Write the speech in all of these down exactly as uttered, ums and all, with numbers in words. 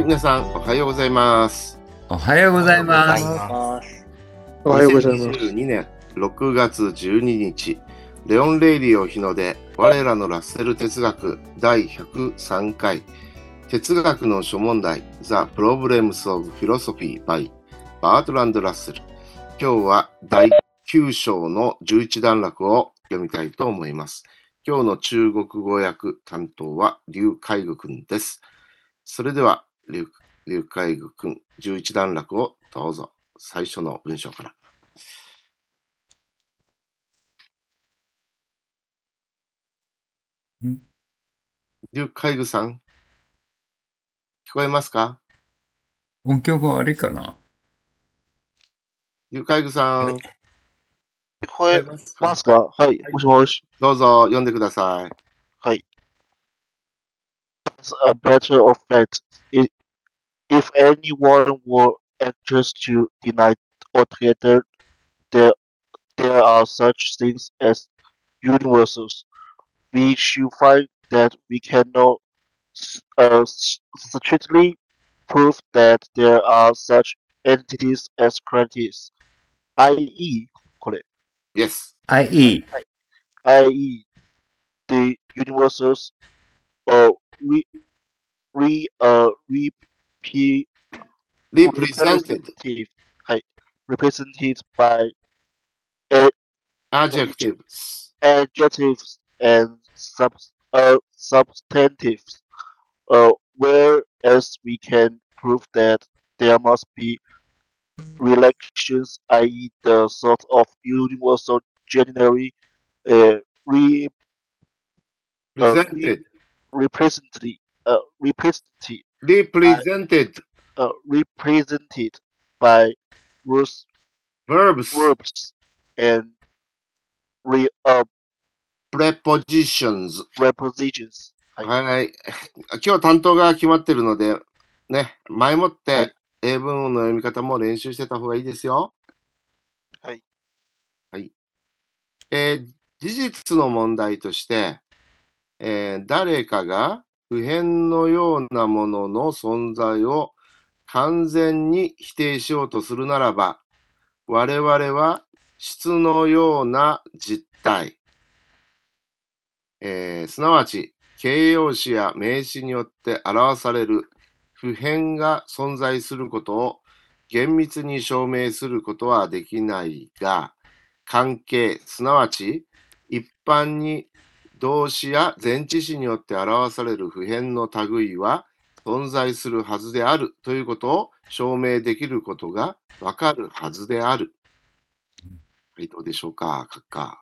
皆さんおはようございます。 おはようございます。 おはようございます。 にせんにじゅうにねんろくがつじゅうににち、レオン・レイリオ日の出、我らのラッセル哲学だいひゃくさんかい、哲学の諸問題 The Problems of Philosophy by バートランド・ラッセル。今日はだいきゅう章のじゅういち段落を読みたいと思います。今日の中国語訳担当は劉海愚くんです。それでは劉海愚くんじゅういち段落をどうぞ。最初の文章から。劉海愚さん、聞こえますか？ 音響が悪いかな？ 劉海愚さん。 聞こえますか？はい、もしもし。 どうぞ読んでください。 はい。As a matter of fact, i- if anyone were anxious to deny altogether there, there are such things as universals, we should find that we cannot s- uh, s- strictly prove that there are such entities as quantities, that is, これ、 Yes. はい、いい。 that is, the universals uh, re, re, uh, repe, Represented. representative, はい、represented by a- Adjectives. adjectives and sub, uh, substantives, uh, whereas we can prove that there must be relations, that is, the sort of universal generally uh, re, uh, re, Presented. represented, uh, represented, Represented. uh, represented by words, Verbs. verbs and re, uh, Prepositions. prepositions. はい。 はい。今日担当が決まってるので、ね、前もっはいて英文の読み方も練習してた方がいいですよ。 はい。 はい。えー事実の問題として、えー誰かが普遍のようなものの存在を完全に否定しようとするならば、我々は質のような実体、えーすなわち形容詞や名詞によって表される普遍が存在することを厳密に証明することはできないが、関係、すなわち一般に動詞や前置詞によって表される普遍の類は存在するはずであるということを証明できることがわかるはずである。はい、どうでしょうか、閣下。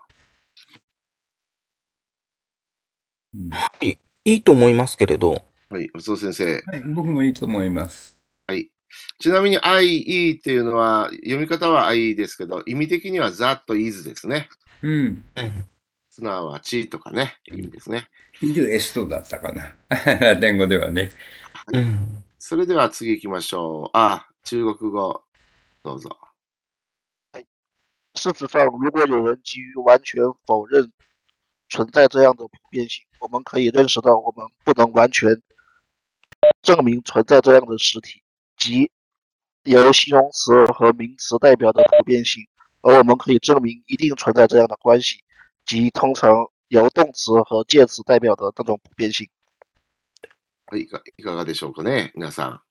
うんいいいと思いますけれど、 はい、松尾先生。 はい、僕もいいと思います。 はい。ちなみに アイイー っていうのは、読み方は アイイー ですけど、意味的には that is ですね。 うん。 うんすなわちとかね、意味ですね。 イルエストだったかな。ラテン語ではね。 うんそれでは次行きましょう。あ、中国語、どうぞ。 事实上，如果有人急于完全否认存在这样的普遍性，我们可以认识到我们不能完全证明存在这样的实体，即由形容词和名词代表的普遍性，而我们可以证明一定存在这样的关系，即通常由动词和介词代表的那种普遍性。 はい、いかいかがでしょうかね、皆さん。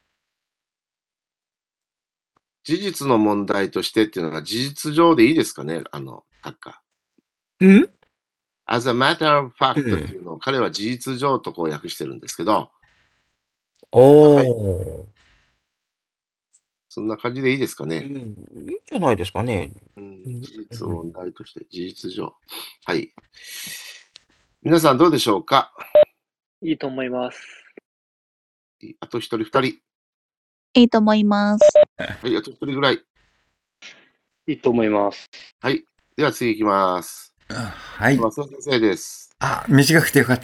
事実の問題としてっていうのが事実上でいいですかね、あの、閣下。 ん as a matter of fact っうんていうのを彼は事実上とこう訳してるんですけど、 おはいー、 そんな感じでいいですかね。 うん、いいんじゃないですかね。 うんうん事実問題として事実上。はい。皆さんどうでしょうか？ いいと思います。 あと一人二人。 いいと思います。 はい、あと一人ぐらい。 いいと思います。 はい。では次行きます。 あはい。 松尾先生です。 あ、短くてよかった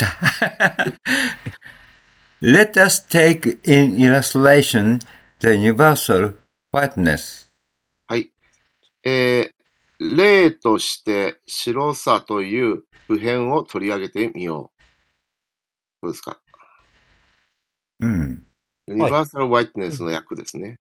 。Let us take in illustration the universal whiteness. はい。えー、例として白さという普遍を取り上げてみよう。どうですか？ うん。 ユニバーサル・ワイトネスの訳ですね。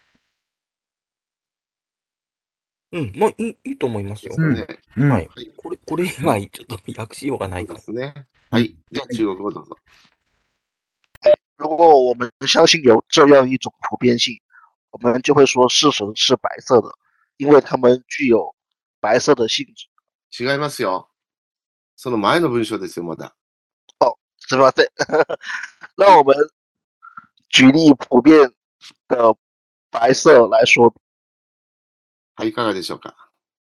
うん、まあ、いいいいと思いますよ。 ですよね。 うん。 はい。これ、これ以外、ちょっと訳しようがないかそうですね。はい。では中国語どうぞ。 如果我们相信有这样一种普遍性，我们就会说是神是白色的，因为它们具有白色的性质。 違いますよ。その前の文章ですよ、まだ。 是吧？对，让我们举例普遍的白色来说。 はい、いかがでしょうか。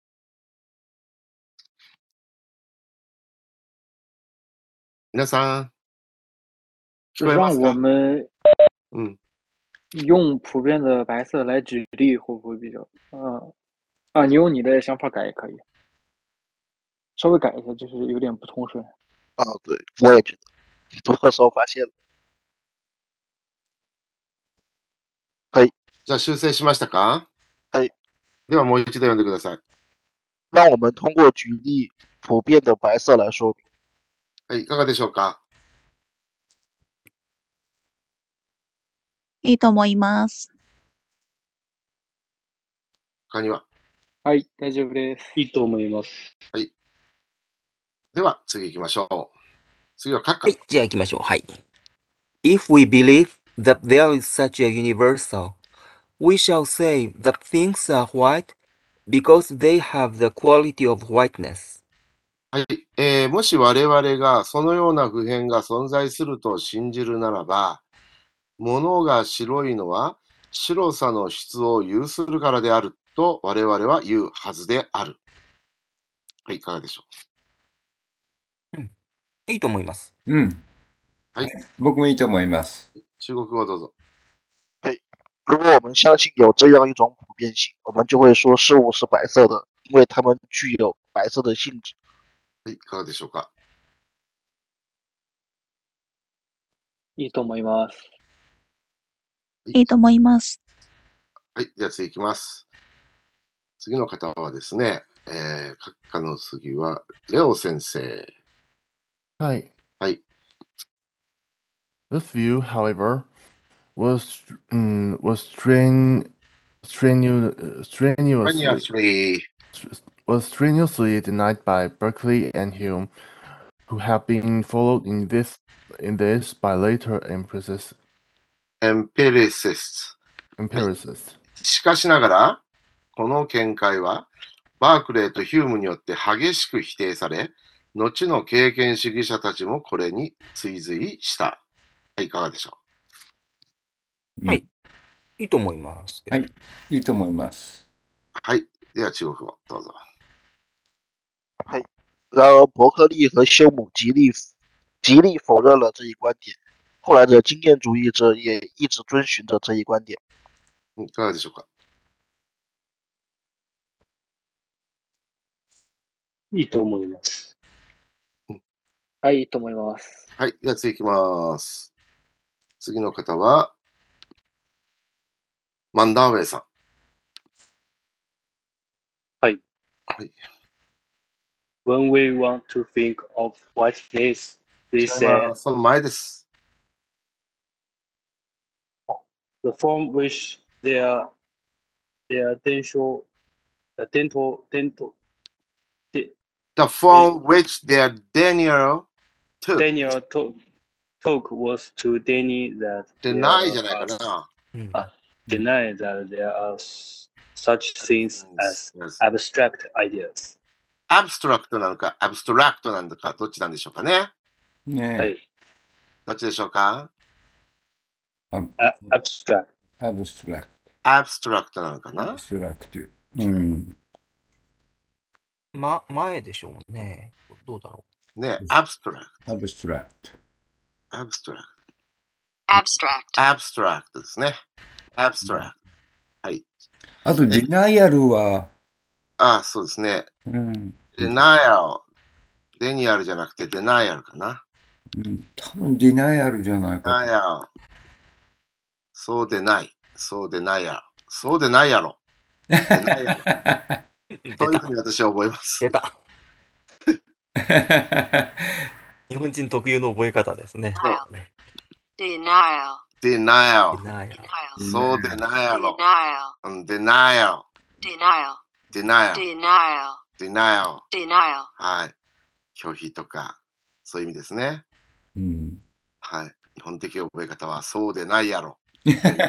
皆さん、聞こえます让我か？ 们うん。 用普遍的白色来举例，会不会比较？嗯啊，你用你的想法改也可以，稍微改一下，就是有点不通顺。 啊，对，我也觉得，读的时候发现了。 じゃあ修正しましたか？ はい。 ではもう一度読んでください。 让我们通过举例普遍的白色来说明。 はい、いかがでしょうか？ いいと思います。 他には？ はい、大丈夫です。 いいと思います。 では次行きましょう。次は閣下。 はい、じゃあ行きましょう。はい。If we believe that there is such a universal, we shall say that things are white because they have the quality of whiteness. はい、えーもし我々がそのような普遍が存在すると信じるならば、物が白いのは白さの質を有するからであると我々は言うはずである。はい、いかがでしょいいと思います。 うん。 はい。 僕もいいと思います。 う？中国語どうぞ。 如果我们相信有这样一种普遍性，我们就会说事物是白色的，因为它们具有白色的性质。 はい、いかがでしょうか。 いいと思います。 いいと思います。 はい、じゃあ次行きます。次の方はですね、えー、閣下の次はレオ先生。 Hi. Hi. This view, however, was um, was strain, strenu, strenuously Strenuously. was strenuously denied by Berkeley and Hume, who have been followed in this in this by later empiricists. Empiricists. empiricists. しかしながら、この見解は、バークレーとヒュームによって激しく否定され、後の経験主義者たちもこれに追随した。はい、いかがでしょはい。いいと思います。 はい。いいと思います。 う？はい。では中国語、どうぞ。 然而，伯克利和休姆极力极力否认了这一观点，后来的经验主义者也一直遵循着这一观点。 いかがでしょうか？ いいと思います。 はい、いいと思います。 はい。では次行きます。次の方は、マンダーウェイさん。 はい。 はい。 When we want to think of whiteness, they 違い say ますその前です。 the form which their their dental the dental dental The form which their Daniel took. Daniel talk talk was to Danny that deny there じゃないか are- な。 うんあ deny that there are s- such things as Yes. abstract ideas. アブストラクトなのか、アブストラクトなのか、どっちなんでしょうかね。 ねえ。 はい。 どっちでしょうか？ あ A- abstract. アブストラクアブストラクトなのかト。 なアブ。ストラクト。うん。 ま、前でしょうね。どうだろね、アブストラクアブストラクト。 ト。アブストラク abstract ト。アブストラクトですね。アブストラクト。はい。 あと、ディナイアルは、 ああ、そうですね。 うん。 デナイアル。デニアルじゃなくてデナイアルかな。 うん多分ディナイアルじゃないデナイか。 アル。そうでない。そうでないやろ。そうでないやろ。でないやろ。 う。出たそういうふう。に私は覚えます。 出た。日本人特有の覚え方ですね。 そうね denial denial。 denial。 そうでないやろ。 denial, うん denial。 denial, denial。 denial, denial。 denial. はい。拒否とか、そういう意味ですね。 うん。 はい。日本的覚え方は、そうでないやろ。と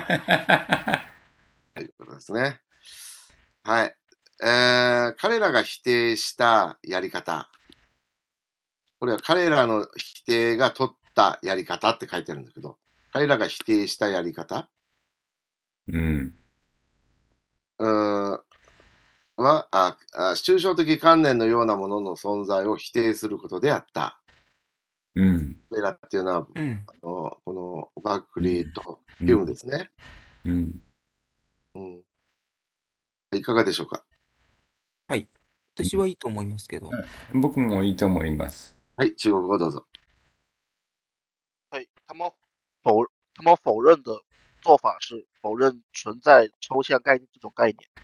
いうことですね。はい。えー、彼らが否定したやり方。これは彼らの否定が取ったやり方って書いてあるんだけど、彼らが否定したやり方、 うん。 うーんはああ、抽象的観念のようなものの存在を否定することであった。 うん。 彼らっていうのは、 うん。 あのこのバックリーとヒュームですね。 うん。 うんいかがでしょうか。 はい。私はいいと思いますけど。 僕もいいと思います。 はい、中国語どうぞ。 对，他们否他们否认的做法是否认存在抽象概念这种概念。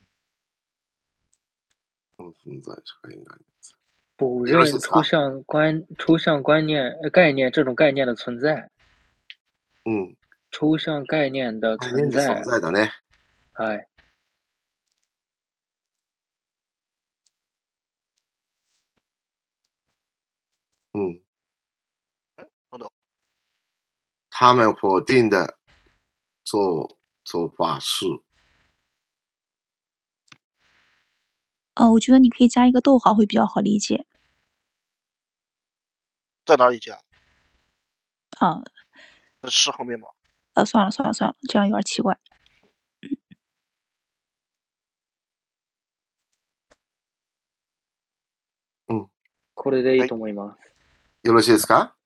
この存在社会があります。 否よろしいですか。 认抽象观抽象观念呃概念这种概念的存在， うん。 抽象概念的概念存在， で存在だね。 はい。 嗯， 等等， 他们否定的做做法是， 呃，我觉得你可以加一个逗号会比较好理解。 在哪里加？ 啊， 在是后面吗？ 呃，算了算了算了，这样有点奇怪。 これでいいと思います。 よろしいですか。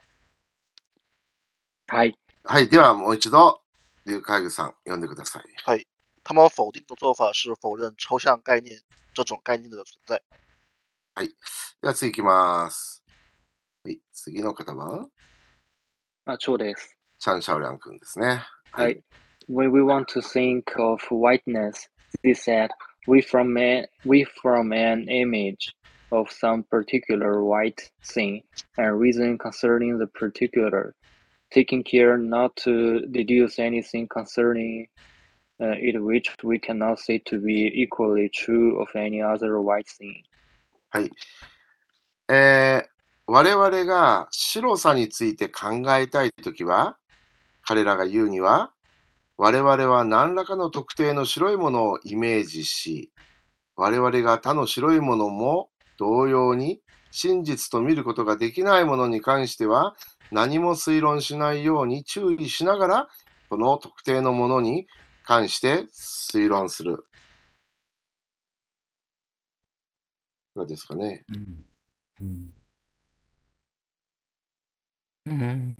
はい。 はい、ではもう一度、劉海具さん、読んでください。 はい。他们否定的做法是否认抽象概念这种概念的存在。 はい。では次いきます。はい、次の方は、 あ、そうです。 チャン・シャオリャン君ですね。 はい。When we want to think of whiteness, they said, we from a, we from an image of some particular white thing and reason concerning the particular, taking care not to deduce anything concerning uh, it which we cannot say to be equally true of any other white thing. はい。えー、我々が白さについて考えたいときは、彼らが言うには、我々は何らかの特定の白いものをイメージし、我々が他の白いものも同様に真実と見ることができないものに関しては何も推論しないように注意しながら、この特定のものに関して推論する。どうですかね。 うん。うん。 うん。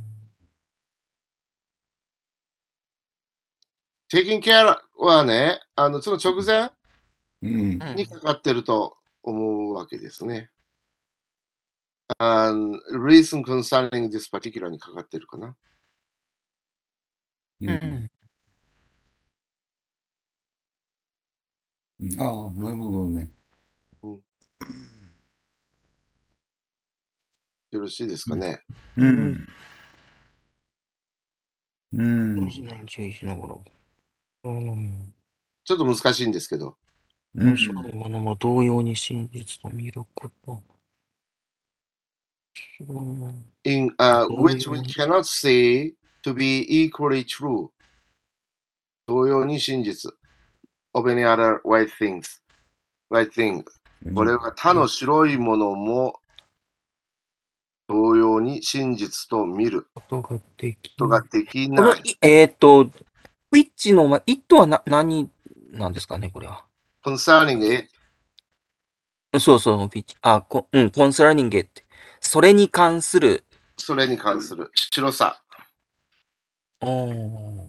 taking care はね、あのその直前うん。 にかかってると思うわけですね。あ reason concerning this particular にかかってるかな。 う。 うんん。 ああ、なるほどね。 よろしいですかね。 うん。うん。 何注意しながら。うん。 ちょっと難しいんですけど。 うん。 白いものも同様に真実と見ること。うん。 in uh, 同 which 様 we に。 cannot say to be equally true. 同様に真実。of any other white things. white thing. これは他の白いものも同様に真実と見ることができことができこの、 ない。 いえっと、ウィッチの、ま、イットはな、何なんですかね、これは。 concerning it. そうそう、ウィッチ。あ、こうん、concerning it。それに関する。 それに関する白さ。 あー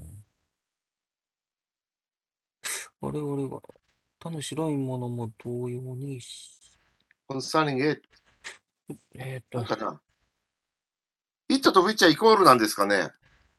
我々が、他の白いものも同様に、 concerning it. えっと、 なんかな。it と which はイコールなんですかね。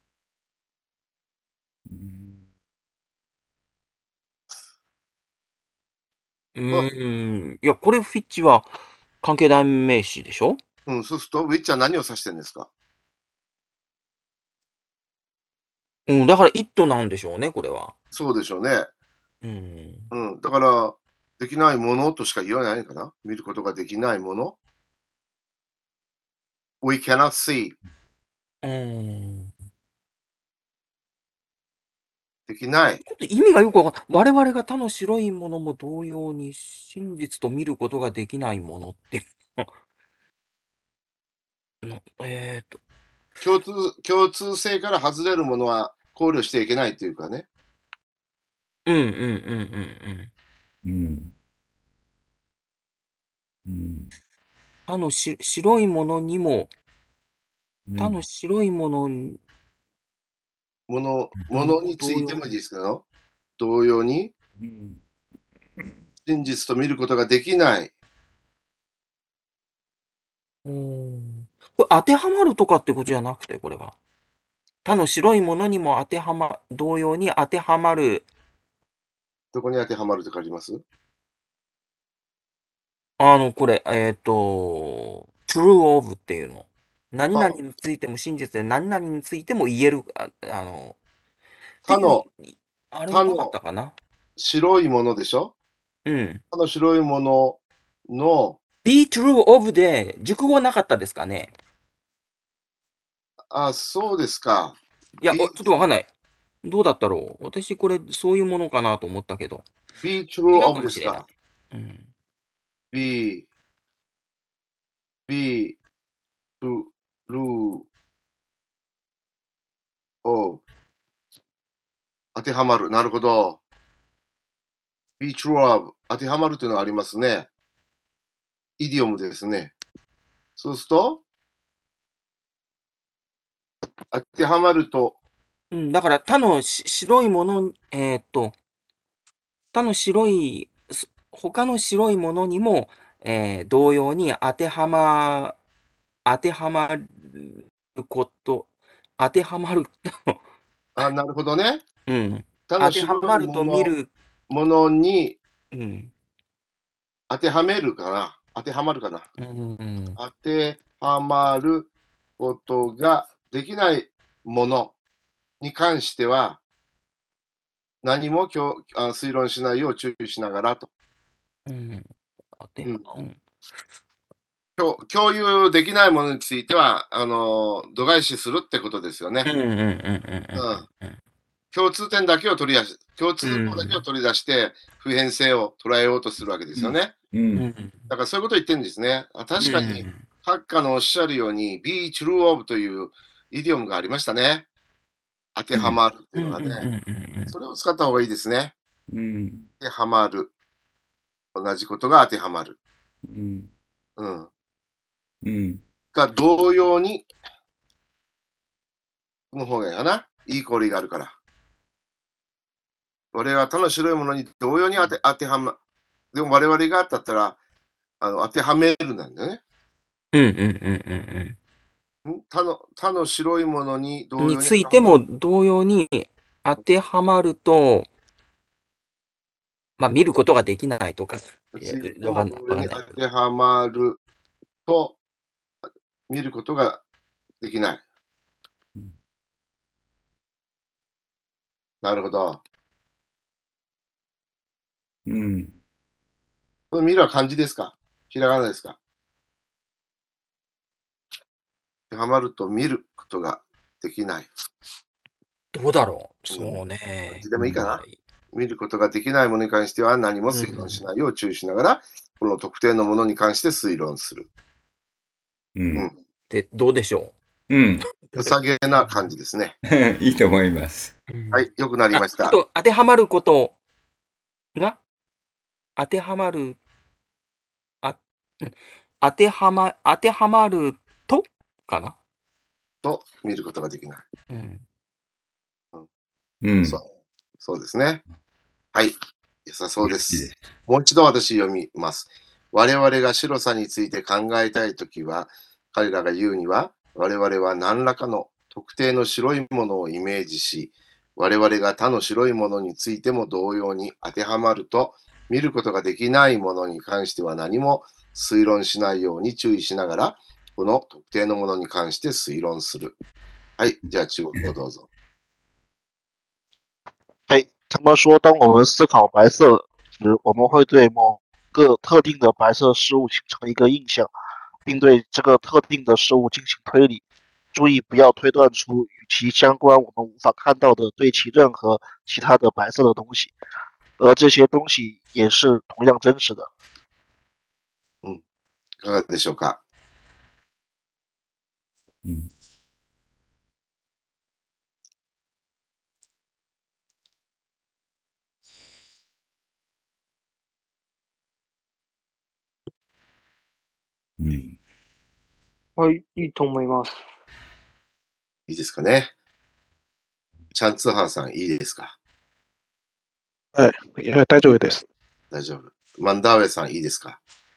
うーん、いや、これフィッチは関係代名詞でしょ。 うん、そうすると which は何を指してるんですか。 うん、だから it なんでしょうね、これは。 そうでしょうね。 うん。 うん。だから、できないものとしか言わないのかな。見ることができないもの。We cannot see. うん。 できない。 ちょっと意味がよくわかんない。我々が他の白いものも同様に真実と見ることができないものって。のえっと、 共通、共通性から外れるものは考慮していけないというかね。 うんうんうんうんうん。 うん。うん。 他のし白いものにも、 うん。 他の白いものにもの、 うんものについてもいいですけど、同様にうん。 真実と見ることができない。 うーん。これ当てはまるとかってことじゃなくて、これは。他の白いものにも当てはま、同様に当てはまる。 どこに当てはまるとかあります？ あの、これ、えっと、true of っていうの。何々 あ、 についても真実で、何々についても言える、あ、あの、っていう他の、 あれはなかっ他のたかな。 白いものでしょ？ うん。 他の白いものの、 be true of で、熟語はなかったですかね。 あ、そうですか。 いや、 be, おちょっとわかんない。どうだったろう。私、これ、そういうものかなと思ったけど。 be 違 true うか of もしれない。 ですか。 うん。 be, be true of 当てはまる。なるほど。be true of 当てはまるというのがありますね。イディオムですね。そうすると、当てはまると、 うん、だから、他のし白いもの、えーっと、他の白い、す他の白いものにも、えー同様に当てはま、当てはまること、当てはまる、 あ、なるほどね。 うん。 他の当ては白いまると見もの、 る、 ものにうん。 当てはめるかな。当てはまるかな。 うんうん当てはまることができないものに関しては、何もきょあ推論しないよう注意しながらと。 うん当てうんうん共共有できないものについては、あの度外視するってことですよね。 うんうんうんうんうんうん共通点だけを取り出し、共通項だけを取り出して、普遍性を捉えようとするわけですよね。 う。 うんんだからそういうことを言ってるんですね。あ確かに、 うんハッカーのおっしゃるように、be true of というイディオムがありましたね。当てはまるっていうのがうんうんうんね。 うんそれを使った方がいいですね。 うん。 当てはまる。同じことが当てはまる。 うん。 うん。 うん。 が同様に、の方がいいかな。いいコーリがあるから。我々は他の白いものに同様に当て当てはま、でも我々がだったら、あの当てはめるなんだよね。 うんうんうんうんん他の他の白いものに同うんに様についても同様に当てはまると、まあ見ることができないとか、いやついてわかも同様にんないわかんない。 当てはまると見ることができない。 うんなるほど。 うん。 この見るは漢字ですか？ひらがなですか？当てはまると見ることができない。 どうだろう。 うんそうね。 どっちでもいいかなはい見ることができないものに関しては何も推論しないよう注意しながら、この特定のものに関して推論する。 う。 うんん。 で、どうでしょうん。 良さげな感じですね。 いいと思います。 う。うんはい、よくなりました。 ああと、当てはまることが、当てはまる、あ、うん当てはま、当てはまるとかな。 と見ることができない。 うん。 うん。 そうそうですね。はい。良さそうで。 いいですす。 もう一度私読みます。我々が白さについて考えたいときは、彼らが言うには、我々は何らかの特定の白いものをイメージし、我々が他の白いものについても同様に当てはまると、見ることができないものに関しては何も推論しないように注意しながら、この特定のものに関して推論する。はい。じゃあ中国語どうぞ。 他们说，当我们思考白色时，我们会对某个特定的白色事物形成一个印象，并对这个特定的事物进行推理。注意不要推断出与其相关我们无法看到的对其任何其他的白色的东西，而这些东西也是同样真实的。 うん。いかがでしょうか。 うん。うん。 はい、いいと思います。 いいですかね。チャンツーハーさん、いいですか。 はい。いや、大丈夫です。 大丈夫。マンダーウェイさん、いいですか。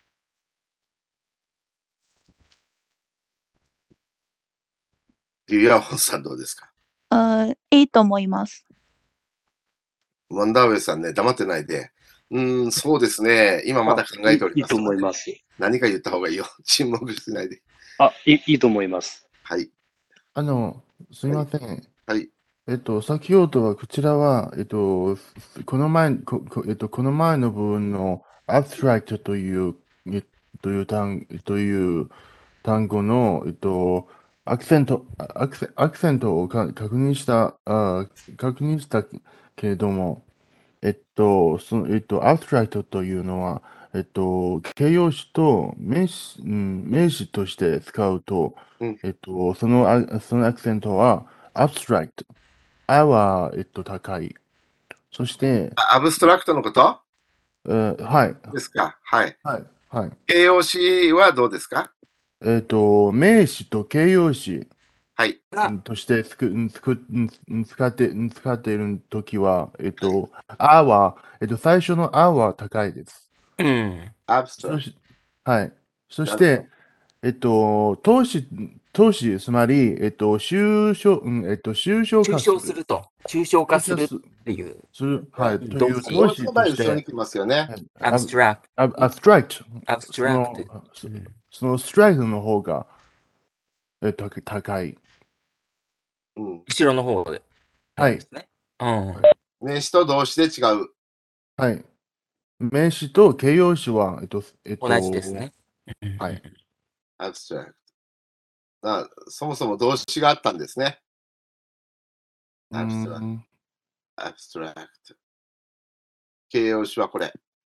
リュウヤンホンさん、どうですか。 呃、いいと思います。 マンダーウェイさんね、黙ってないで。うーん、そうですね。今まだ考えております。 いいと思います。 何か言った方がいいよ。沈黙しないで。 あ、いいいいと思います。 はい。 あの、すみません。 はい。 えっと、先ほどはこちらは、えっと、この前、ここえっと、この前の部分の abstract という、えという単という単語の、えっと、アクセント、アクセアクセントをか確認した、あ確認したけれども、えっと、その、えっと、abstract というのは、えっと、形容詞と名詞、うん、名詞として使うと、 うんえっと、そのあ、そのアクセントは abstract。あは、えっと、高い。そして、 あアブストラクトのことえーはい。 ですか。はい。 はい。はい。 形容詞はどうですか。 えっと、名詞と形容詞はい。 うんとしてつくうんつくうん使ってうん使っているときは、えっと、あは、えっと、最初のあは高いです。 うん。 アブストラクそしはい。そして、えっと、投資、投資、つまり、えっと、抽象、うん、えっと、抽象化抽象すると。抽象化するっ抽象ていう。 する、はい、 うんという動詞投資の場合として、 後ろに来ますよね。 はいアブストラクアブアブストラクト。 ト。アブストそラのクト。 そうんそのストライクの方が、えっと、高い。 うん。 後ろの方で。 はいですね。うん。 名詞と動詞で違う。 はい。名詞と形容詞は、えっと、えっと、 同じですね。 はい。 アブストラクト。あ、そもそも動詞があったんですね。 うアブストラクト。 ん。 アブストラクト。形容詞はこれ。聞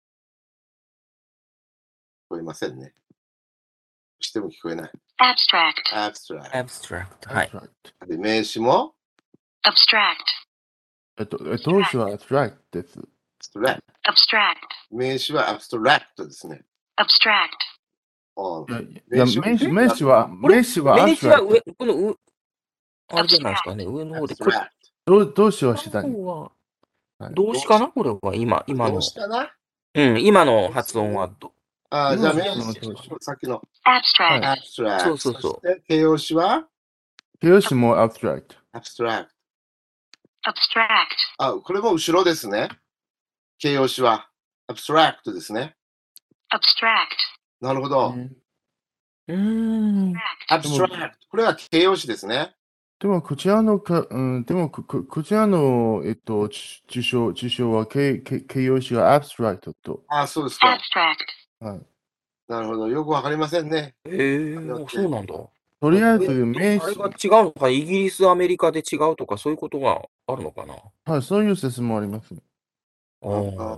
こえませんね。しても聞こえない。 abstract, アブストラクアブストラクト。はい。 abstract。 ト。で名詞も abstract, えっと、え動詞は abstract です。 アブストラクト。 abstract, 名詞はアブストラクトですね。 abstract, あいや、いや名詞名詞、名詞は、 これ名詞は名詞は abstract。 上、この上、あれじゃないですかね。上の方で。これ、 動動詞は下に。 この方ははい動詞かなこれは今、今の動。詞かな。 うん、今の発音はど、 あ、じゃあ名今の詞動詞。 さっきの abstract, はいアブストラクト。 そうそうそうそして形容詞は形容詞も abstract。 アブストラクト。 abstract, あ、これも後ろですね。形容詞はアブストラクトですね。 abstract, なるほど。 うーん。 アブストラクト。これは形容詞ですね。 でも、こちらのか、うん、でもこ、ここちらの、えっと、ち受賞、受賞は形形形容詞が abstract と。 あ、そうですか。 abstract, はい。 なるほど。よくわかりませんね。 ええー、そうなんだ。 とりあえず、 え名詞あれが、違うのか、イギリス、アメリカで違うとか、そういうことがあるのかな。 はい、そういう説もあります。 ああ。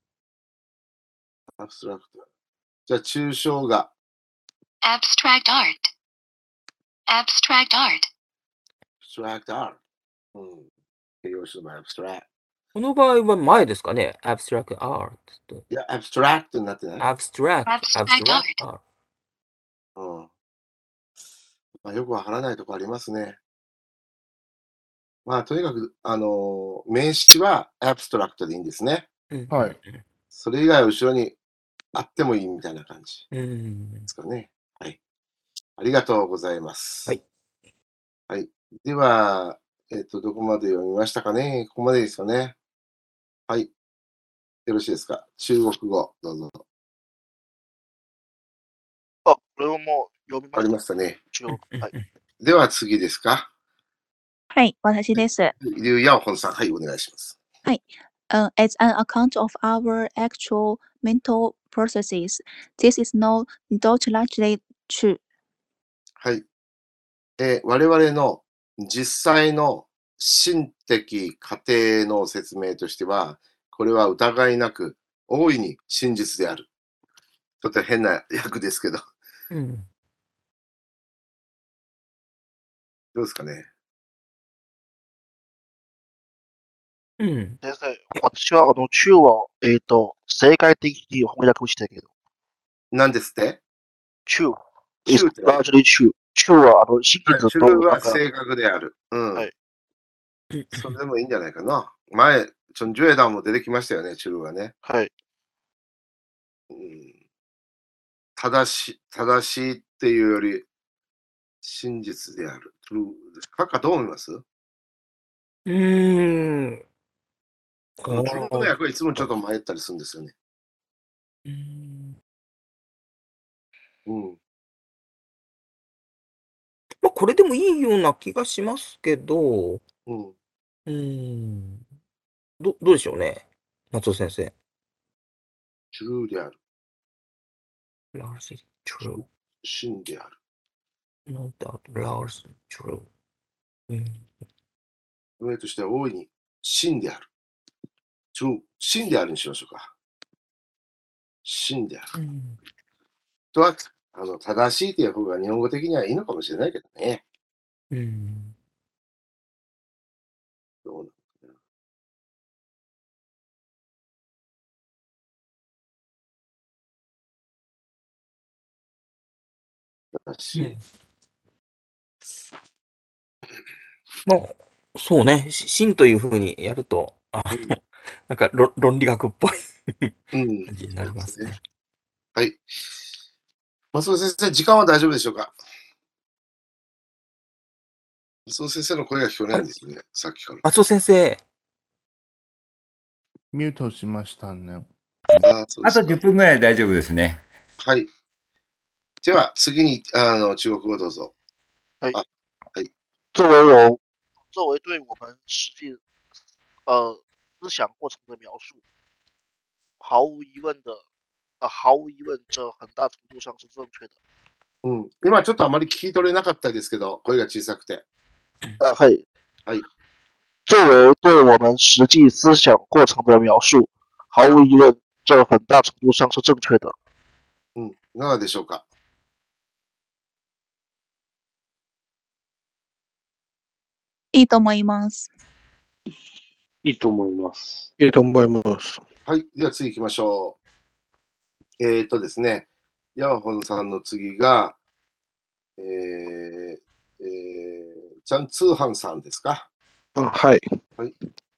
アブストラクト。じゃあ、抽象画。 abstract art, abstract art, アブストラクトアート。うん。形容詞のアブストラクト。 この場合は前ですかね。abstract art と。 いや、アブストラクトになってない。 abstract, Abstract abstract art. うん。まあ、よくわからないとこありますね。まあ、とにかく、あのー名詞はアブストラクトでいいんですね。 うんはい。 それ以外は後ろにあってもいいみたいな感じうんで。すかね。はい。ありがとうございます。 はい。 はい。では、えっと、どこまで読みましたかね。ここまでですかね。はい。よろしいですか。中国語、どうぞ。 あ、これをもう読みありまましたね。 す。中国。はい。 では次ですか。 はい、私です。 リュウヤオホンさん、はい、お願いします。 uh, as an account of our actual mental processes. This is no doubt largely true. はい。えー我々の実際の心的過程の説明としては、これは疑いなく大いに真実である。ちょっと変な訳ですけど、 うん。 どうですかね。 うん。 先生、私はあの中は、えっ、と、正解的に翻訳したけど、 何ですって中 is 中って何 largely true. 中はあの真はい、 実中となんか、 は正確である。うん。 はいそれでもいいんじゃないかな。前、チョン・ジュエダンも出てきましたよね、中はね。 はい。 うん正しい、正しいっていうより、真実である。true カッカどう思いますうーん。 この中国の訳はいつもちょっと迷ったりするんですよね。 うーん。 うん。 まあ、これでもいいような気がしますけど、ううん。 ーん。ど、どうでしょうね。松尾先生。 true である。 largely true. 真である。 No doubt, largely true. うん。 上としては大いに真である。true 真であるにしましょうか。真である。 うんとは、あの、正しいという方が日本語的にはいいのかもしれないけどね。 うん。 どうなのかな。正しい。 まあ、そうね。し真というふうにやると、あうんの、なんか論論理学っぽいうん。 感じになりますね。 はい。松尾先生、時間は大丈夫でしょうか。松尾先生の声が聞こえないんですよね、さっきから。 松尾先生。 ミュートしましたね。 あ、そうであとすか。 じゅっぷんぐらい大丈夫ですね。 はい。では、次に、あの、中国語どうぞ。 はい。 あ、はい。 作为我作为对我们实际呃思想过程的描述，毫无疑问的，呃，毫无疑问，这很大程度上是正确的。 うん。今ちょっとあまり聞き取れなかったですけど、声が小さくて。 呃，嘿， はい。 作为对我们实际思想过程的描述，毫无疑问，这很大程度上是正确的。 うん。いかがでしょうか。 いいと思います。 いいと思います。 いいと思います。 はい。では次行きましょう。えっ、ー、とですね、ヤオホンさんの次が、えー、えー、チャン・ツーハンさんですか。 あ、はい。 はい。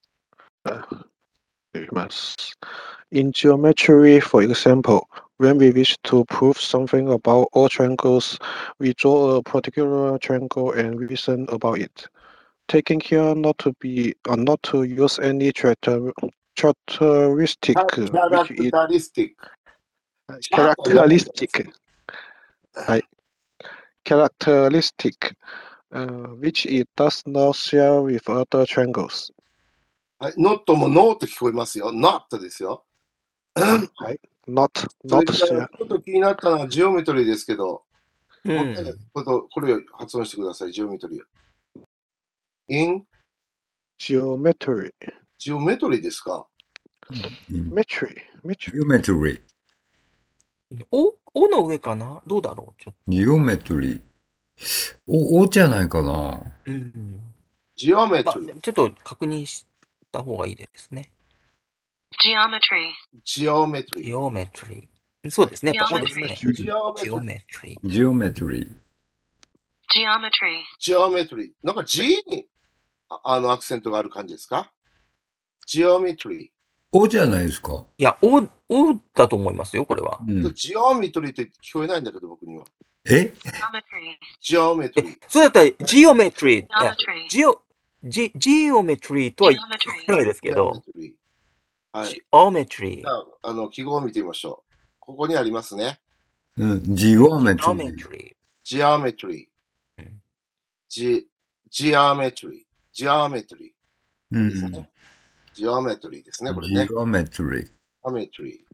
いきます。In geometry, for example, when we wish to prove something about all triangles, we draw a particular triangle and reason about it. Taking care not to be, uh, not to use any character, characteristic, キャラ which ク is タリスティック。 characteristic, はい。characteristic, uh, which it does not share with other triangles. はい。ノットもノーと聞こえますよ。ノットですよ。 はい。not, それ not から share. ちょっと気になったのはジオメトリーですけど、 うもう一回ん。 ことこれを発音してください、ジオメトリー。in geometry, ジオメトリーですか。 うん metry, metry. Geometry。 お、おの上かなどうだろうちょっ Geometry。お、おじゃないかな。 と。うん。 ジオメまあトリー。、 ちょっと確認した方がいいですね。 Geometry. ジオメトリー。 geometry。そうですね。やっぱそうですね。 ジオメトリー。 geometry。 Geometry。 Geometry. ジオメトリー。なんか G にああのアクセントがある感じですか。ジオメトリー。 おじゃないですか。 いや、お、おだと思いますよ、これは。 うん、 ジオメトリーって聞こえないんだけど、僕には。 え Geometry. ジオメトリー。 そうだったら、geometry。いや Geometry. ジオ、ジ、geometry とは言わないですけど、 はい。 geometry。 ああの、記号を見てみましょう。ここにありますね。 うん、Geometry。 geometry。 ジオメトリー。ジ、ジオメトリー。ジオメトリー。 うんですね。 ジオメトリーですね、これね。 geometry. ジオメトリ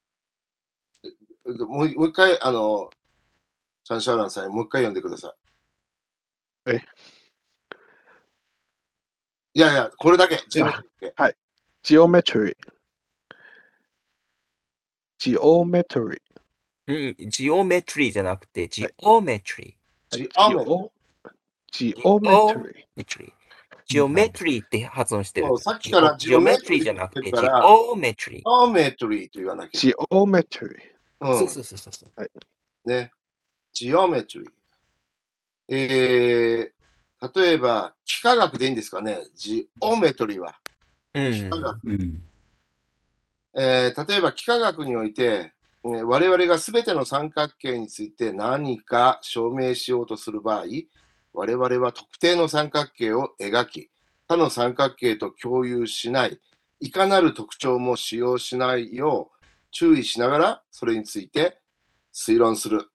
ー。もうもう一回、あの、チャンシャーランさんにもう一回読んでください。 えいやいや、これだけ。ジオメトリーだけ。 はい。geometry。geometry。 うん、ジオメトリーじゃなくて、ジオメトリジオメトリー。 geometry。 ー。ジオメトリーって発音してる。 そうさっきからジオメトリーじゃなくて、ジジオメトリーってオメトリー。 ジオメトリーと言わなきゃ。 geometry。 うん、 そうそうそうそう。 はい。 ね。ジオメトリー。えー、例えば、幾何学でいいんですかね。ジオメトリーは。幾何学。 うん。 えー例えば、幾何学において、えー我々がすべての三角形について何か証明しようとする場合、我々は特定の三角形を描き、他の三角形と共有しない、いかなる特徴も使用しないよう注意しながら、それについて推論する。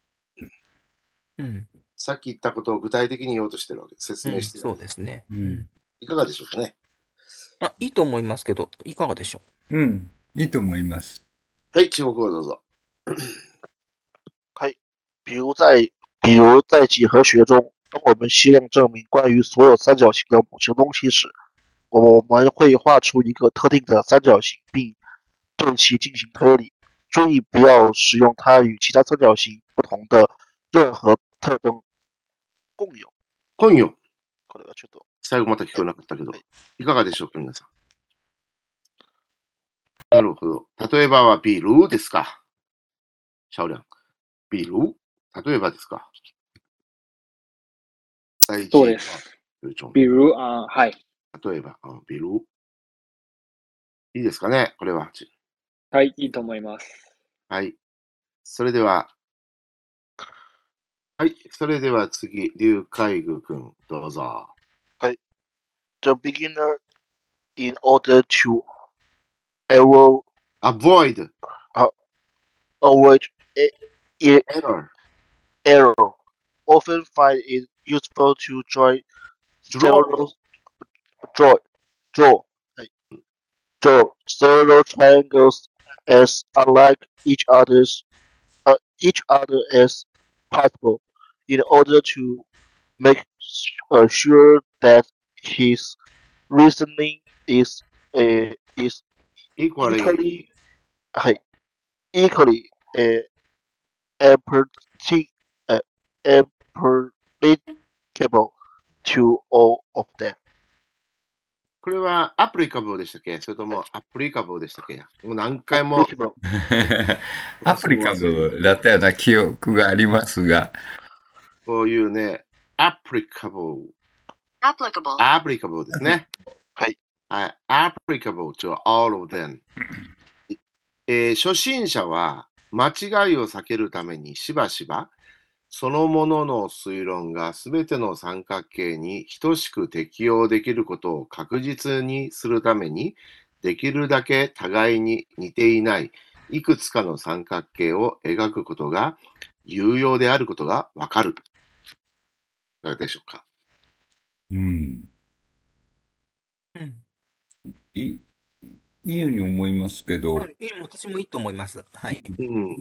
うん、 さっき言ったことを具体的に言おうとしてるわけ。説うん、 明してる。 そうですね。 うん。 いかがでしょうかね。 あ、いいと思いますけど、いかがでしょうん。いいと思います。 はい、中国語どうぞ。 比如在比如在几何学中，当我们希望证明关于所有三角形的某些东西时，我们会画出一个特定的三角形，并对其进行推理。注意不要使用它与其他三角形不同的任何特征共有。 今夜、 これがちょっと最後また聞こえなかったけどはい、 いかがでしょうか、皆さん。なるほど。例えばはビールですか。シャオリャン。ビール例えばですか。第一そうです。比如啊、はい。 例えば、あビール。いいですかね、これは。 はい、いいと思います。 はい。それでは、はい。それでは次、劉海愚君、どうぞ。 The beginner, in order to avoid avoid avoid e- e- error, error, often find it useful to join draw, several draw draw draw several triangles as unlike each other's uh, each other as possible in order to make uh, sure that his reasoning is uh, is equally, equally uh, equally uh, applicable uh, applicable to all of them. これはアプリカブルでしたっけ、それともアプリカブルでしたっけ、もう何回も Applicable. アプリカブだったような記憶がありますが、 こういうね、アプリカブル、 applicable, アプリカブルですね。 はい。 はい。applicable to all of them。えー初心者は間違いを避けるためにしばしばそのものの推論がすべての三角形に等しく適用できることを確実にするために、できるだけ互いに似ていないいくつかの三角形を描くことが有用であることがわかる。いかがでしょうか。 うん。 うん。 いいいように思いますけど、 はい、私もいいと思います。はい。 うん、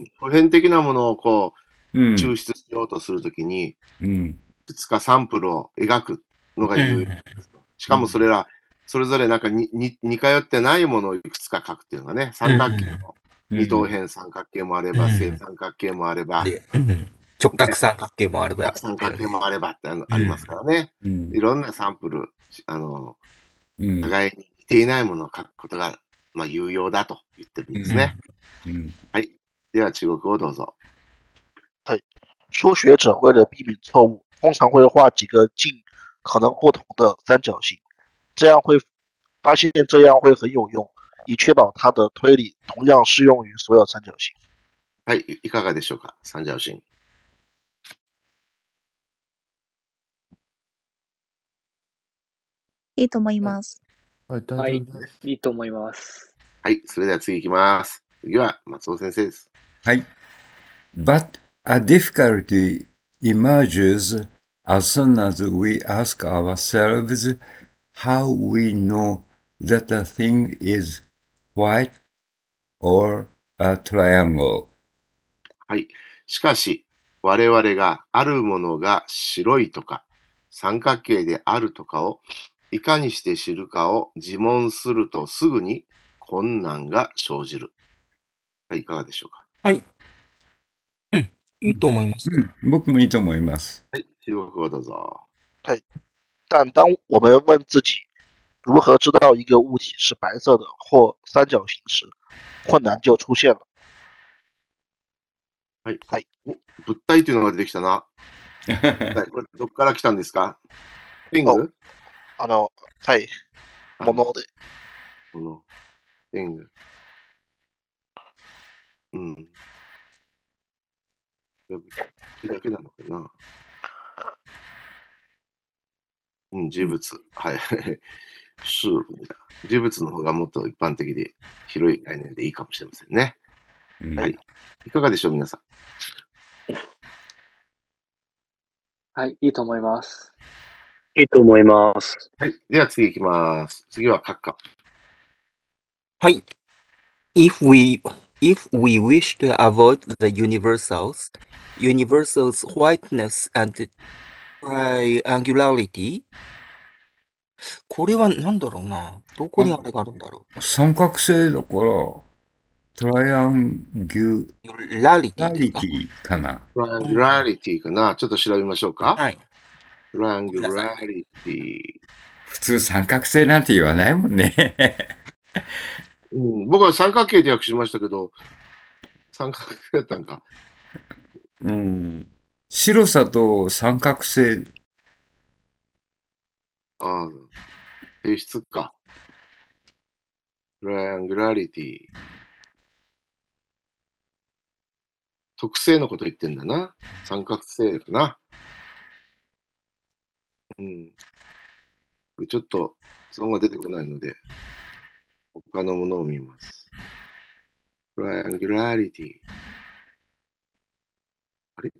普遍的なものをこう、 うん抽出しようとするときに、 うん、 いくつかサンプルを描くのが有用です。しかもそれら、それぞれなんかにに似通ってないものをいくつか書くっていうのがね、三角形の二等辺三角形もあれば、 うん正三角形もあれば、 で、うん直角三角形もあれば。 三角形もあればってあのありますからね。 うんいろんなサンプル、あの、 うん、 互いに似ていないものを書くことが、まあ、有用だと言ってるんですね。 うん、 はい。では中国語をどうぞ。 初学者为了避免错误，通常会画几个尽可能不同的三角形，这样会发现这样会很有用，以确保它的推理同样适用于所有三角形。 はい。いいかがでしょうか。三角形。 いいと思います。 はい、大はい丈夫です。 いいと思います。 はい。それでは次行きます。次は松尾先生です。 はい。But a difficulty emerges as soon as we ask ourselves how we know that a thing is white or a triangle. はい。しかし、我々があるものが白いとか、三角形であるとかをいかにして知るかを自問するとすぐに困難が生じる。はい、いかがでしょうか。 はい。うん、いいと思います。 うん、僕もいいと思います。 はい、中国語どうぞ。 对，但当我们问自己如何知道一个物体是白色的或三角形时，困難就出現了。 はい。 はい。 お、物体というのが出てきたな。はい、これどっから来たんですか？ピング？ あの、はい。もので。 この、ピング。うん。物体だけなのかな。うん、事物。はい。事物だ。事物の方がもっと一般的で広い概念でいいかもしれませんね。 うん、 はい。いかがでしょう、皆さん。 はい、いいと思います。 いいと思います。 はい。では次行きます。次は閣下。 はい。If we, if we wish to avoid the universals, universals whiteness and triangularity, これは何だろうな。どこにあれがあるんだろう。 三角形だから、トライアンギュラリテラリィですか？ ティかな。 トライアングラリティかな。ちょっと調べましょうか。 はい。 トライアングラリティ。 普通三角形なんて言わないもんね。 うん、僕は三角形で訳しましたけど、三角形だったんか。 うん。白さと三角形。 ああ、性質か。トライアングラリティ。特性のこと言ってんだな。三角形かな。うん。ちょっと、そのが出てこないので、他のものを見ます。トライアングラリティ。あれ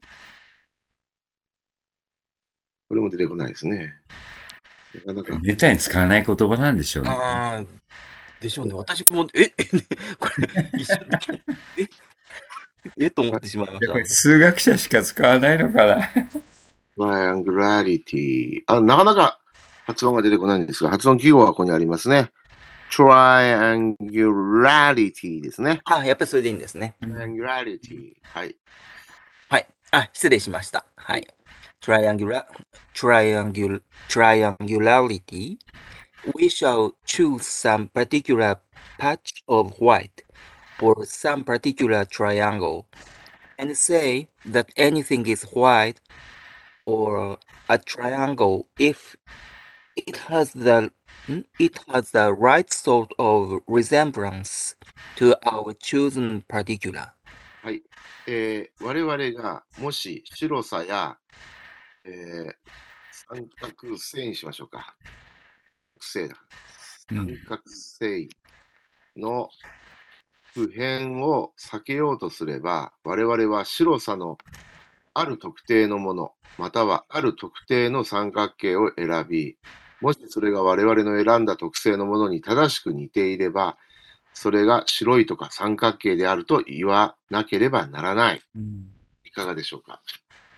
これも出てこないですね。なかなか。 めったに使わない言葉なんでしょうね。 ああ、でしょうね。私も、え、え、これ、一緒え、えと思ってしまいました。 数学者しか使わないのかな。 トライアングラリティ。あ、なかなか発音が出てこないんですが、発音記号はここにありますね。triangularity ですね。 あ、やっぱりそれでいいんですね。 triangularity。はい。 はい。あ、失礼しました。はい。triangular, triangular, triangularity. We shall choose some particular patch of white or some particular triangle and say that anything is white or a triangle if it has the it has the right sort of resemblance to our chosen particular. はい。えー、我々がもし白さや、えー、三角形にしましょうか。正だ。三角形の普遍を避けようとすれば、我々は白さのある特定のもの、またはある特定の三角形を選び、もしそれが我々の選んだ特性のものに正しく似ていれば、それが白いとか三角形であると言わなければならない。いかがでしょうか。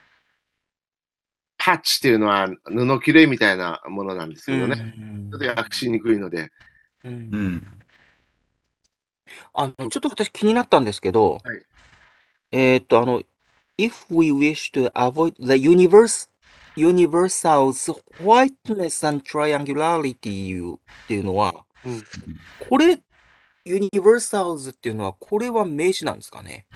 パッチっていうのは布切れみたいなものなんですけどね。ちょっと訳しにくいので。 うん、あのちょっと私気になったんですけど、はい、えっと、あの、if we wish to avoid the universe, universal's whiteness and triangularity っていうのは、うん、これ、universals っていうのは、これは名詞なんですかね？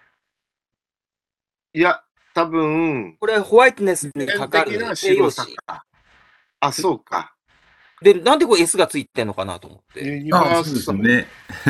いや、多分、 これはホワイトネスにかかる形容詞。 あ、そうか。 で、なんでこれ S がついてんのかなと思って。 ユニバーサルね。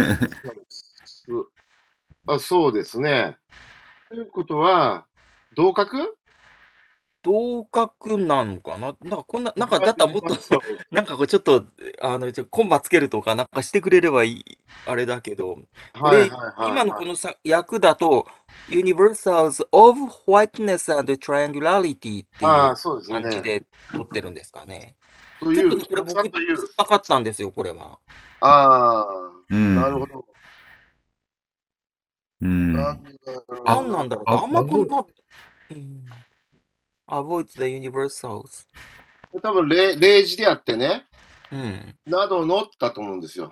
あ、そうですね。ということは、同格同格なのかな、なんかこんな、なんかだったらもっと、なんかこれちょっと、あの、コンマつけるとかなんかしてくれればいい、あれだけど、これ、今のこのさ訳だと、Universals of Whiteness and Triangularity っていう感じで取ってるんですかね。 という、 ちょっとね、これたくさん僕、 という。 分かったんですよ、これは。 ああ、 うんなるほど。 うんなんでだろう何なんだろうああんまこんあな、うん、avoid the universals。 多分例、例示であってね、 うん。 などのだと思うんですよ。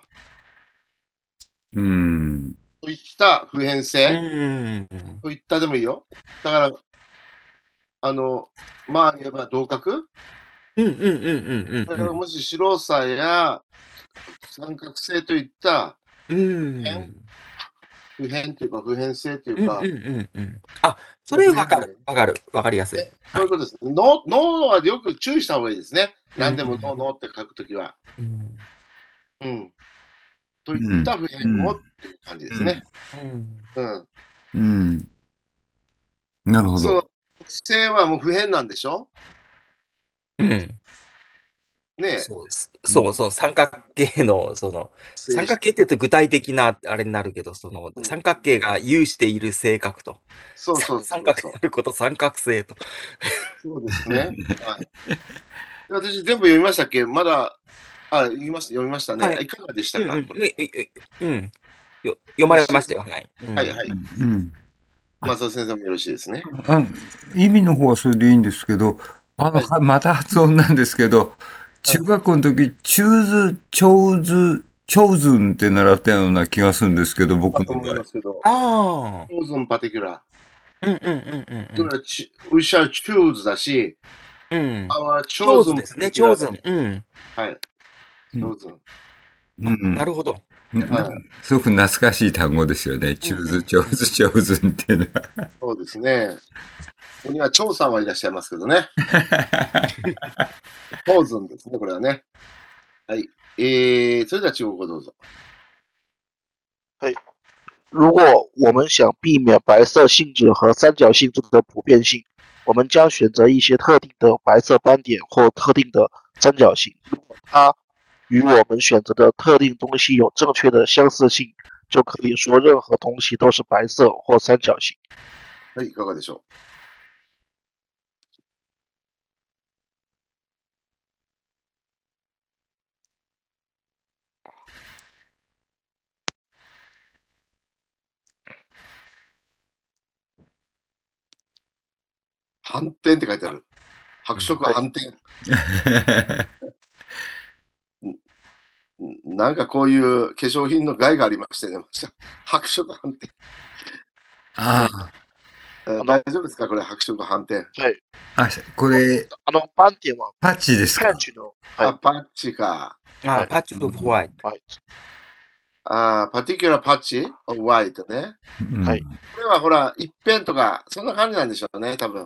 うんといった普遍う性ん。 といったでもいいよ。だから、あの、まあ言えば同格、 うんうんうんうんだからもし白さや三角性といったうん。うん。 普遍というか普遍性というか、 うんうんうんうん。あ、それわかる。わかる。わかりやすい。 ね、そういうことです。ノノはよく注意した方がいいですね。何でもうんノーノーって書くときは。 うん。 うん。といった普遍をっていう感じですね。 うん。 うん。 うんなるほそのど。 性はもう普遍なんでしょうん。 ねえ。 そうです。そうそう、三角形の、その、三角形って言うと具体的なあれになるけど、その、三角形が有している性格と、 そうそうそう三角であること、三角性と。 そうですね。はい。私全部読みましたっけまだ、あ、言いました、読みましたね。 はいいかがでしたか、 うんうん。うん。よ読まれましたよ。はい。 はいはい。 うん松尾先生もよろしいですね。 あ意味の方はそれでいいんですけど、あの、はまた発音なんですけど、中学校の時、チューズ、チョーズ、チョーズンって習ったような気がするんですけど、僕だと思いの場合。 ますけど、 ああ。 choose in particular。 うんうんうんうんそれはち we shall choose だし、 うん。うん。 our チョーズ chosen ですね、 particular チョーズン。うん。 はい。chosen。 うんなるほど。 ななんかすごく懐かしい単語ですよね。チューズ、チョーズ、チョーズンっていうのは。 そうですね。ここには張さんはいらっしゃいますけどね。chosen ですね、これはね。はい。えー、それでは中国語どうぞ。 如果我们想避免白色性质和三角性质的普遍性，我们将选择一些特定的白色斑点或特定的三角形。如果它与我们选择的特定东西有正确的相似性，就可以说任何东西都是白色或三角形。 はい、いかがでしょう。反転って書いてある。白色反転。なんかこういう化粧品の害がありましてね。白色反転。 ああ大丈夫ですかこれ、白色反転。 はい。 あ、これ、 あの斑点はパッチですかパッチの、はいあ、パッチか。 あ、パッチオブホワイト。 はい。 あパティキュラーパッチホワイトね。 はい。 これはほら、一辺とか、そんな感じなんでしょうね、多分。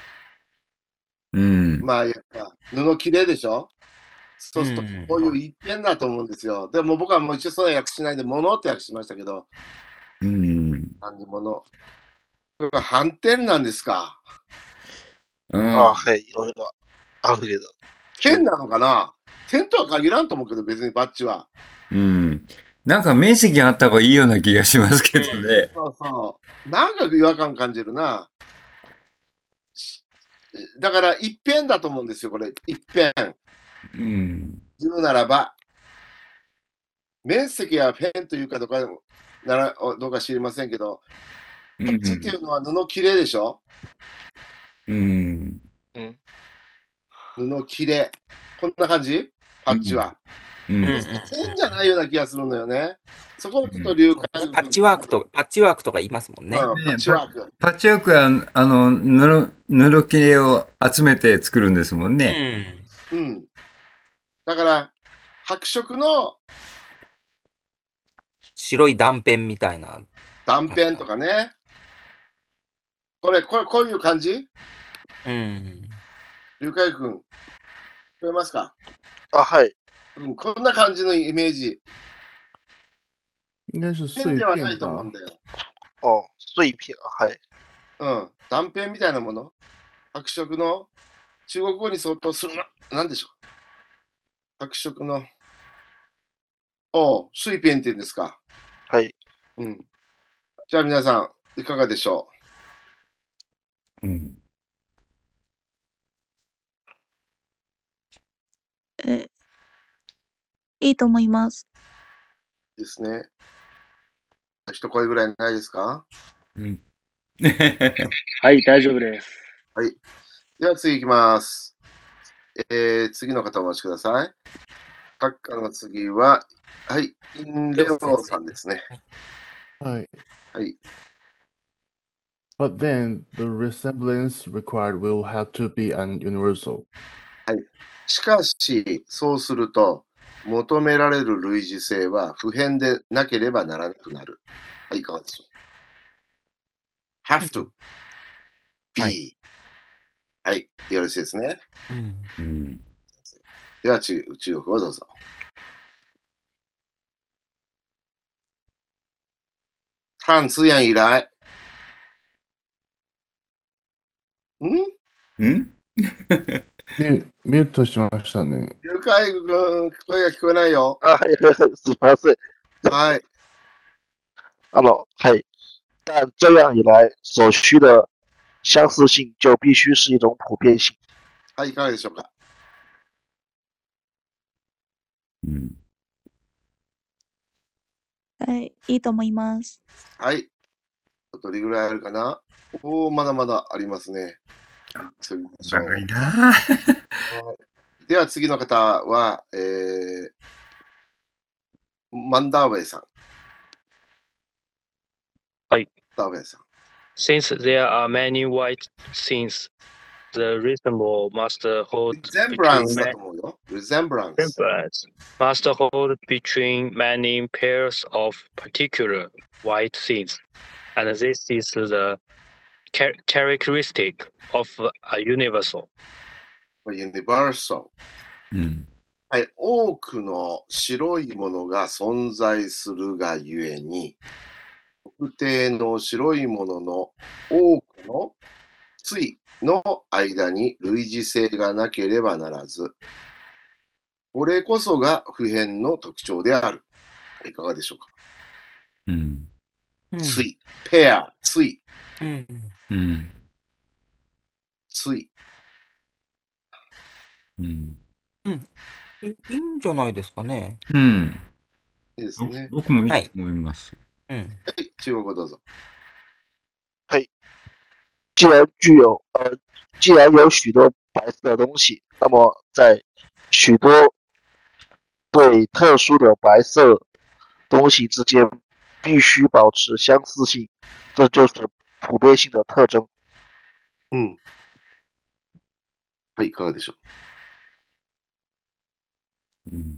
うん。 まあ、やっぱ、布綺麗でしょそうするとうん、 こういう一辺だと思うんですよ。でも僕はもう一応それは訳しないで、物って訳しましたけど、 うん。 漢字物。これが反転なんですか。 ああ、はい。いろいろあるけど。 剣なのかな点とは限らんと思うけど、別にバッチは。 うん。なんか面積があった方がいいような気がしますけどね。 そうそう。なんか違和感感じるな。だから一辺だと思うんですよ、これ。一辺。 うん。 言うならば、面積は辺というかどうかならどうか知りませんけど、パッチっていうのは布切れでしょうん。 うん。 布切れ。こんな感じパッチは。 うん。 線じゃないような気がするのよね。そこをちょっと流解。 パッチワークと、パッチワークとか言いますもんね。 うん、パッチワーク。 パッチワークは、あの、布、布切れを集めて作るんですもんね。 うん。 うん。だから、白色の白い断片みたいな。 断片とかね。これ、これ、こういう感じうん。 龍海君、聞こえますかあ、はい。 うん、こんな感じのイメージ。 应该是碎線ではない片吧と思うん。だよ。 哦，碎片，はい。 うん。断片みたいなもの。白色の中国語に相当するな。なんでしょう。白色の。おう、水片って言うんですか。 はい。 うん。じゃあ皆さん、いかがでしょうん。 え、いいと思います。 ですね。一声ぐらいないですか？ うん。 はい、大丈夫です。 はい。では次いきます。えー、次の方お待ちください。閣下の次は、はい、インレオさんですね。 はい。 はい。 But then, the resemblance required will have to be an universal. はい。しかし、そうすると、求められる類似性は普遍でなければならなくなる。はい、いかがでしょう。have to be。 ははい、よろしいですね。 うんうん。 では、中中国をどうぞ。汉字眼以来。んんミュミュートしましたね。 ゆかいくん、声が聞こえないよ。 啊，すみません。 はい。 啊喏，嘿，但这样一来，所需的相似性就必须是一种普遍性。 はい、いかがでしょうか。 うん。 はい、いいと思います。 はい。どれぐらいあるかな？おお、まだまだありますね。次行きましょう長いな。 はいでは次の方は、えー、マンダーウェイさん。 はい。 マンダーウェイさん。 Since there are many white things, the resemble must hold between Resemblance だ many と思うよ。Resemblance。 resemblance must hold between many pairs of particular white things, and this is the char- characteristic of a universal. Universal。 うん。 はい。多くの白いものが存在するがゆえに、特定の白いものの多くの対の間に類似性がなければならず、これこそが普遍の特徴である。いかがでしょうか。 うん。 対、ペア、対、 うんうん。 対。 うん。 いいいんじゃないですかね。 うん。 いいですね。 僕もいいと思います。 うん。 はい、中国語どうぞ。 既然具有呃，既然有许多白色的东西，那么在许多对特殊的白色东西之间必须保持相似性，这就是普遍性的特征。 うん。はい、いかがでしょうん。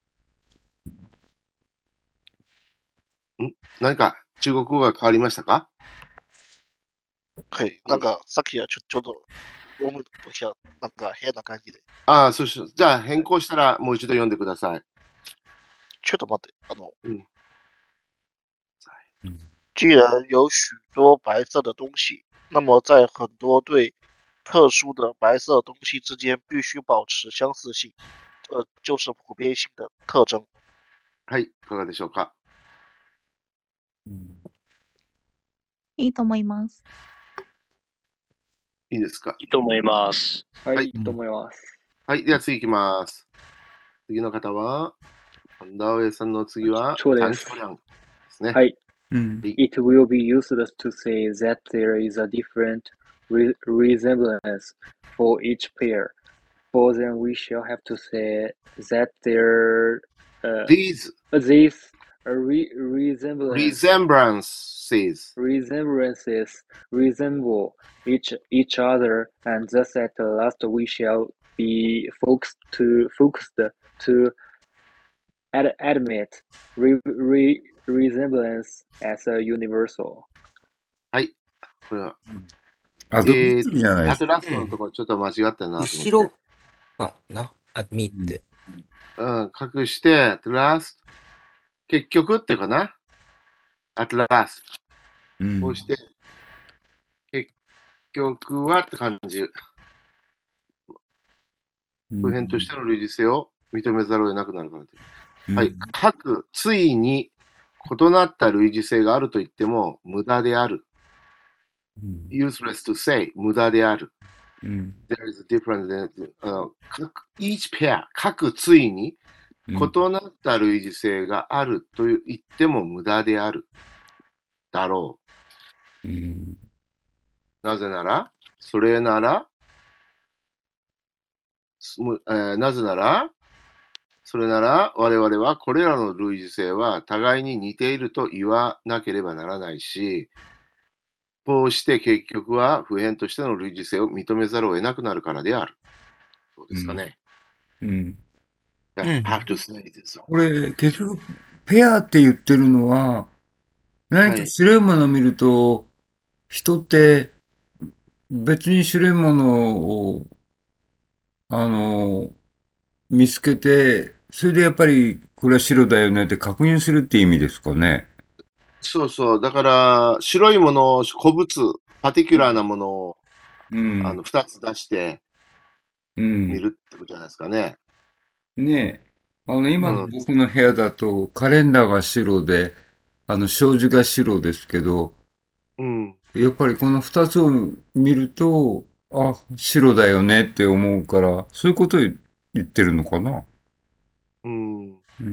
う。ん何か中国語が変わりましたか？ はい、なんかさっきはちょちょっと読むときはなんか変な感じで。 ああ、そうしよう。じゃあ変更したらもう一度読んでください。 ちょっと待って、あの、 うん既然有许多白色的东西，那么在很多对特殊的白色东西之间必须保持相似性，这就是普遍性的特征。 はい、いかがでしょうか。 いいと思います。 いいですか。 いいと思います。 はい、 はいいいと思います。 はい、では次いきます。次の方は、アンダーウェイさんの次は、 そうですチャンチョリャンですね。 はい。 うん。 It will be useless to say that there is a different re- resemblance for each pair. For then we shall have to say that there uh, These these re- resemblance resemblances resemblances resemble each each other, and thus at last we shall be focused to focused to ad- admit re- re- resemblance as a universal. これは、 あ、どっちじゃないですか。 あとラストのところちょっと間違ったなと思って。 後ろかな。アミって。 うん、隠して、at last、結局っていうかな。at last。 うん。 こうして、結局はって感じ。普遍としての類似性を認めざるを得なくなるからという。 うんはい。各、ついに異なった類似性があると言っても無駄である。 うん useless to say 無駄である。 うん。 there is a difference in, あの各 each pair、各対にうん。 異なった類似性があると言っても無駄であるだろうん。 う。なぜなら、それなら、すむえーなぜなら、それなら我々はこれらの類似性は互いに似ていると言わなければならないし、こうして結局は普遍としての類似性を認めざるを得なくなるからである。そうですかね。 うん。 I have to say this. これ、結局、ペアって言ってるのは、何かはい。 白いものを見ると、人って別に白いものを、あの、見つけて、それでやっぱりこれは白だよねって確認するって意味ですかね。 そうそう。だから、白いものを、古物、パティキュラーなものを、 うあん。 の、二つ出してうん。 見るってことじゃないですかね。 ねえ。あの、今のうん。 僕の部屋だと、カレンダーが白で、あの、障子が白ですけど、 うん。 やっぱりこの二つを見ると、あ、白だよねって思うから、そういうことを言ってるのかな。 うん。 うん。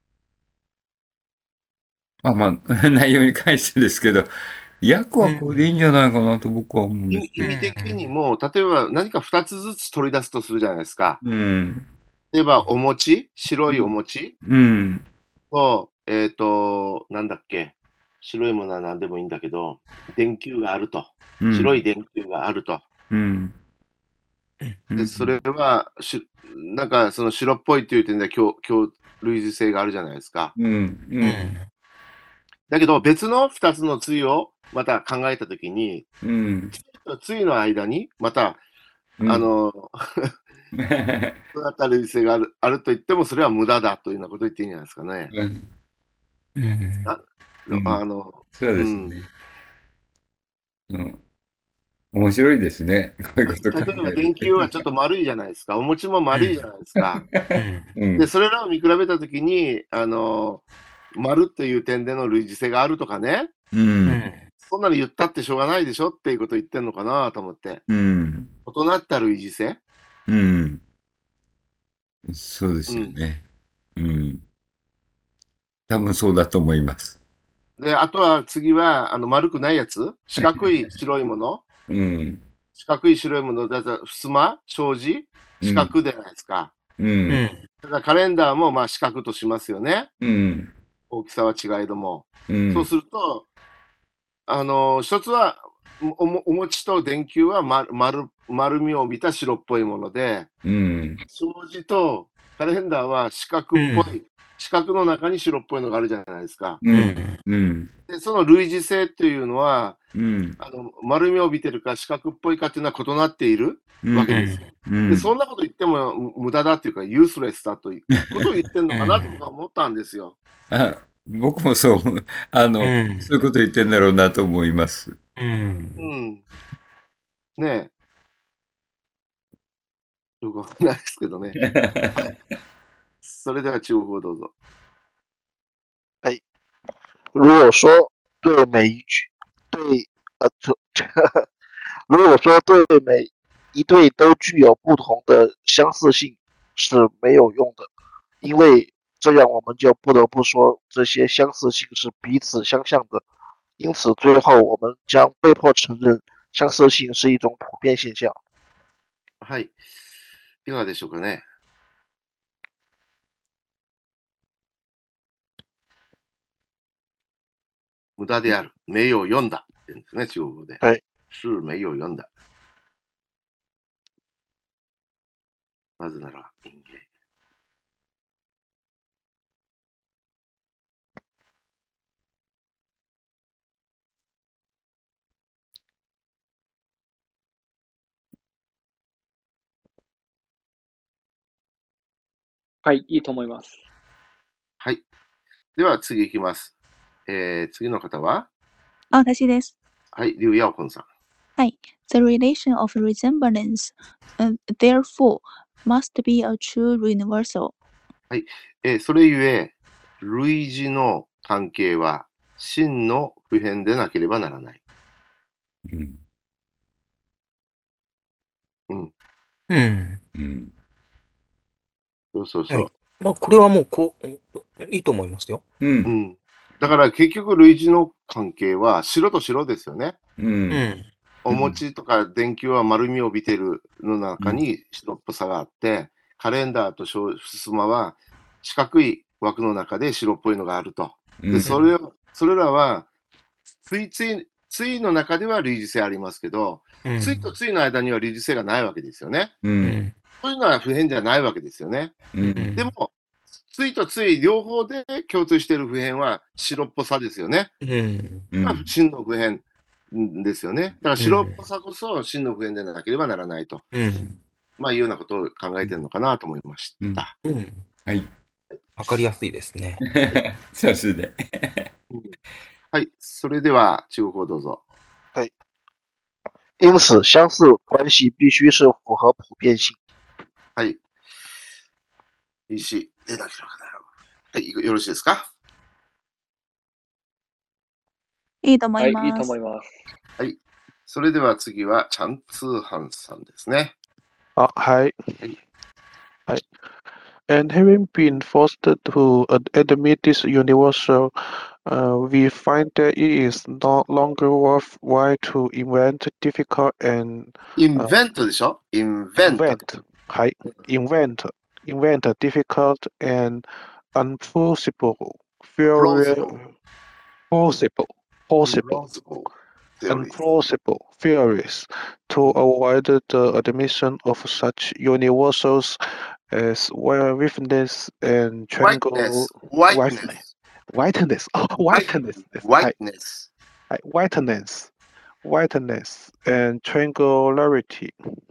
あ、まあ、内容に関してですけど、訳はこれでいいんじゃないかなと僕は思うん意味、 ですけど。 意味的にも、例えば何か二つずつ取り出すとするじゃないですか。 うん。 例えば、お餅、白いお餅うん。 と、えっと、なんだっけ。白いものは何でもいいんだけど、電球があると。 うん。 白い電球があると。 うん。うで、 ん。 それは、し、なんかその白っぽいっていう点で共、共類似性があるじゃないですか。 うん。うんだけど、別の二つの対をまた考えたときに、 うん対の間に、また、 うんあの、そうだった類似性がある、あると言っても、それは無駄だというようなことを言っていいんじゃないですかね。 うんあうんあの、 そううん。 ですね。うん。面白いですね。こういうこと考例えばえる電球はちょっと丸いじゃないですか。お餅も丸いじゃないですか。 うんで、それらを見比べたときに、あの、丸っていう点での類似性があるとかね、 うんそんなの言ったってしょうがないでしょっていうことを言ってんのかなと思って。 うん異なった類似性。 うんそうですうん。 よね。うん。多分そうだと思います。 で、あとは次は、あの、丸くないやつ四角い白いものうん四角い白いものだと、襖障子四うん角じゃないですか。 うんだからカレンダーもまあ四角としますよね。 うん大きさは違いども。 うんそうすると、あの、一つは、おもお餅と電球は丸丸丸みを帯びた白っぽいもので、 うん障子とカレンダーは四角っぽい、四角の中に白っぽいのがあるじゃないですか。 うんうんで、その類似性っていうのは、 うんあの丸みを帯びてるか四角っぽいかっていうのは異なっているわけですよ。 うんで、そんなこと言ってもむ無駄だっていうか、ユースレスだということを言ってるのかなと僕は思ったんですよ。 あ、僕もそう、あの、そういうこと言ってんだろうなと思います。 うん。ねえ。よくわかんないですけどね。はい。それでは中国語どうぞ。 如果说对每一句对呃，这如果说对每一对都具有不同的相似性是没有用的，因为这样我们就不得不说这些相似性是彼此相像的，因此最后我们将被迫承认相似性是一种普遍现象。 はい。いかがでしょうかね。無駄である。名誉を読んだって言うんですね、中国語で。 はい。 是名誉を読んだ。なぜなら、人間。 はい、いいと思います。 はい。では次いきます。えー、次の方はあ、私です。 はい、リュウ・ヤオコンさん。 はい。The relation of resemblance, uh, therefore, must be a true universal. はい。えーそれゆえ、類似の関係は真の普遍でなければならない。 うんうん。 うん。 うん。 そうそうそう。 はい。まあ、これはもう、こう、いいと思いますよ。 う。 うんん。だから結局類似の関係は白と白ですよね。 う。 うんん。 お餅とか電球は丸みを帯びてるの中に白っぽさがあって、カレンダーとふすまは四角い枠の中で白っぽいのがあると。で、 うん。 それを、それらは、ついつい、ついの中では類似性ありますけど、 うん。 ついとついの間には類似性がないわけですよね。 う。 うんん。 そういうのは普遍じゃないわけですよね。 う。 うんん。 でも、ついとつい両方で共通している普遍は白っぽさですよね。 うん。 まあうん。 真の普遍ですよね。だから白っぽさこそ真の普遍でなければならないと。 うん。 まあいうようなことを考えてるのかなと思いましうん。 た。 うん。 はい。 わかりやすいですね。 さすで。 うんはい。それでは中国語どうぞ。 因此，相似关系必须是符合普遍性。 はい。石、出なければならない。はい。よろしいですか？ いいと思はいい、いいます。 と思います。 はい。それでは次は、チャンツーハンさんですね。 あ、はい。 はい。 はい。And having been forced to ad- admit this universal, uh, we find that it is no longer worthwhile to invent difficult and インベントでしょ？インベント。 invent, はい、invent, invent difficult and unplausible, プロ theory, ズボ plausible, プ plausible, ロズボ theories. unplausible theories to avoid the admission of such universals as witness and triangle whiteness, whiteness, whiteness, oh, whiteness です。はい。 whiteness, はい。whiteness, whiteness and triangularity,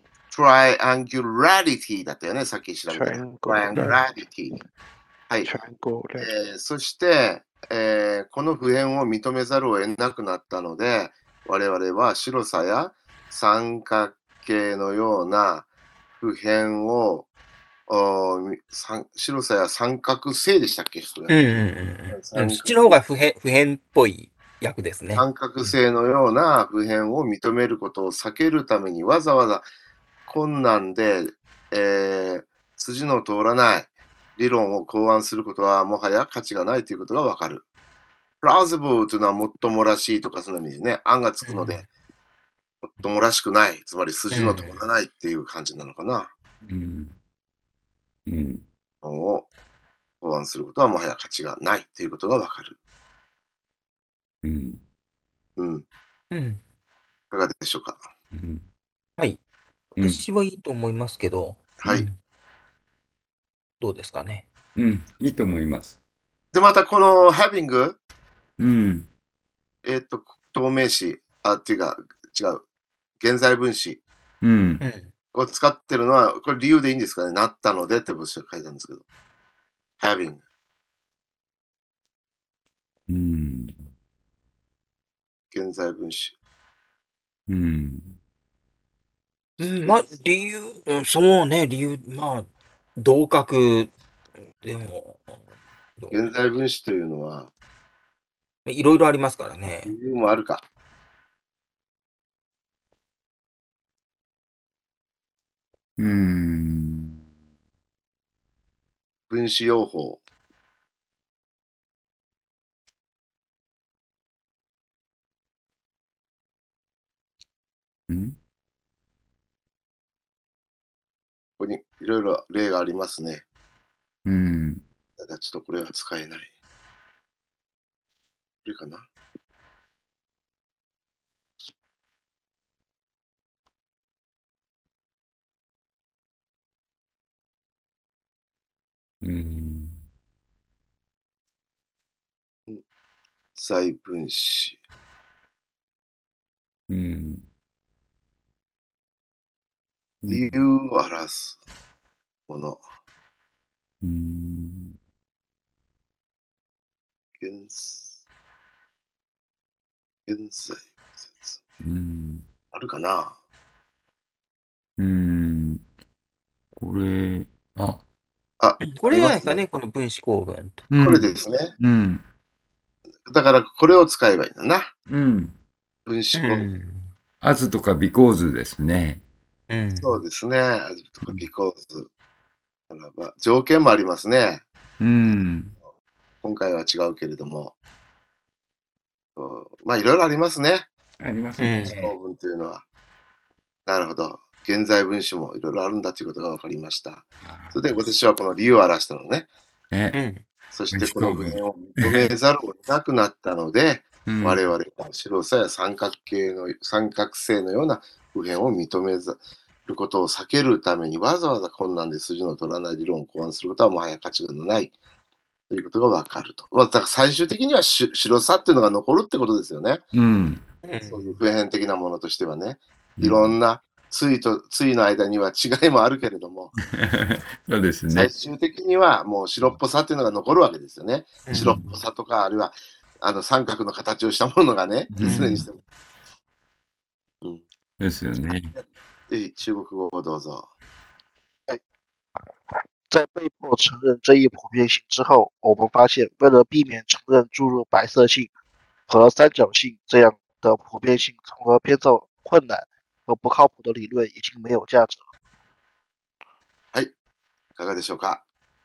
triangularity だったよね、さっき調べたら。 triangularity, triangularity。はい。 triangularity. えーそして、えーこの普遍を認めざるを得なくなったので、我々は白さや三角形のような普遍を、おー三白さや三角性でしたっけ、それ。 うんうんうんうん。 三そっちの方が普遍、普遍っぽい役ですね。 三角性のような普遍を認めることを避けるためにわざわざ困難で、えー筋の通らない理論を考案することはもはや価値がないということがわかる。plausible というのはもっともらしいとかその意味ですね。案がつくので、もっともらしくない。つまり筋の通らないっていう感じなのかな。 うん。うん。 を考案することはもはや価値がないということがわかる。 うん。 うん。いうん。 かがでしょうか。 うん。 はい。 うん。 私はいいと思いますけど、 はい。 うんどうですかね。 うん。いいと思います。 で、またこの having、 うん。 えっと、透明詞、あ、っていうか、違う、現在分詞うん。 うん。 を使ってるのは、これ理由でいいんですかね。なったのでって文章が書いてあるんですけど。having。 うん。 現在分詞。 うん。 うん、まあ、理由、うんそうね、理由、まあ、同格、でも、どう現在分詞というのは、 いろいろありますからね。 理由もあるか。 うん。 分子用法。 うん。 ここにいろいろ例がありますね。 うん。 ただちょっとこれは使えない。これかな。 うん。 在分子。 うん。 理由を表すもの。 うん。 現現在説。 うん。 あるかな。 うん。これ、あ、 あ、 これじゃないですありかね、この分子構文と。 うんこれですね。 うん。 だからこれを使えばいいんだな。 うん。 分子構文。 うん。 as とか because ですね。 うん。 そうですね。とか because ならば条件もありますね。 うん。 今回は違うけれども。うんまあ、いろいろありますね。 ありますうん。 ね。 長文というのは。なるほど。現在分詞もいろいろあるんだということが分かりました。それで私はこの理由を表したのね。 ね。 うん。 そしてこの文を認めざるを得なくなったので、 うん我々は白さや三角形の三角形のような普遍を認めざることを避けるためにわざわざ困難で筋の取らない理論を考案することはもはや価値がないということが分かると。まあだから最終的にはし白さっていうのが残るってことですよね。 うん。 そういう普遍的なものとしてはね。いろんな対と対の間には違いもあるけれども、 そうですね最。終的にはもう白っぽさっていうのが残るわけですよね。 うん白っぽさとか、あるいはあの三角の形をしたものがね、 うんいずれにしても。うん、 ですよね。 ぜひ中国語をどうぞ。 在被迫承认这一普遍性之后，我们发现，为了避免承认注入白色性和三角性这样的普遍性，从而编造困难和不靠谱的理论，已经没有价值了。 いかがでしょうか。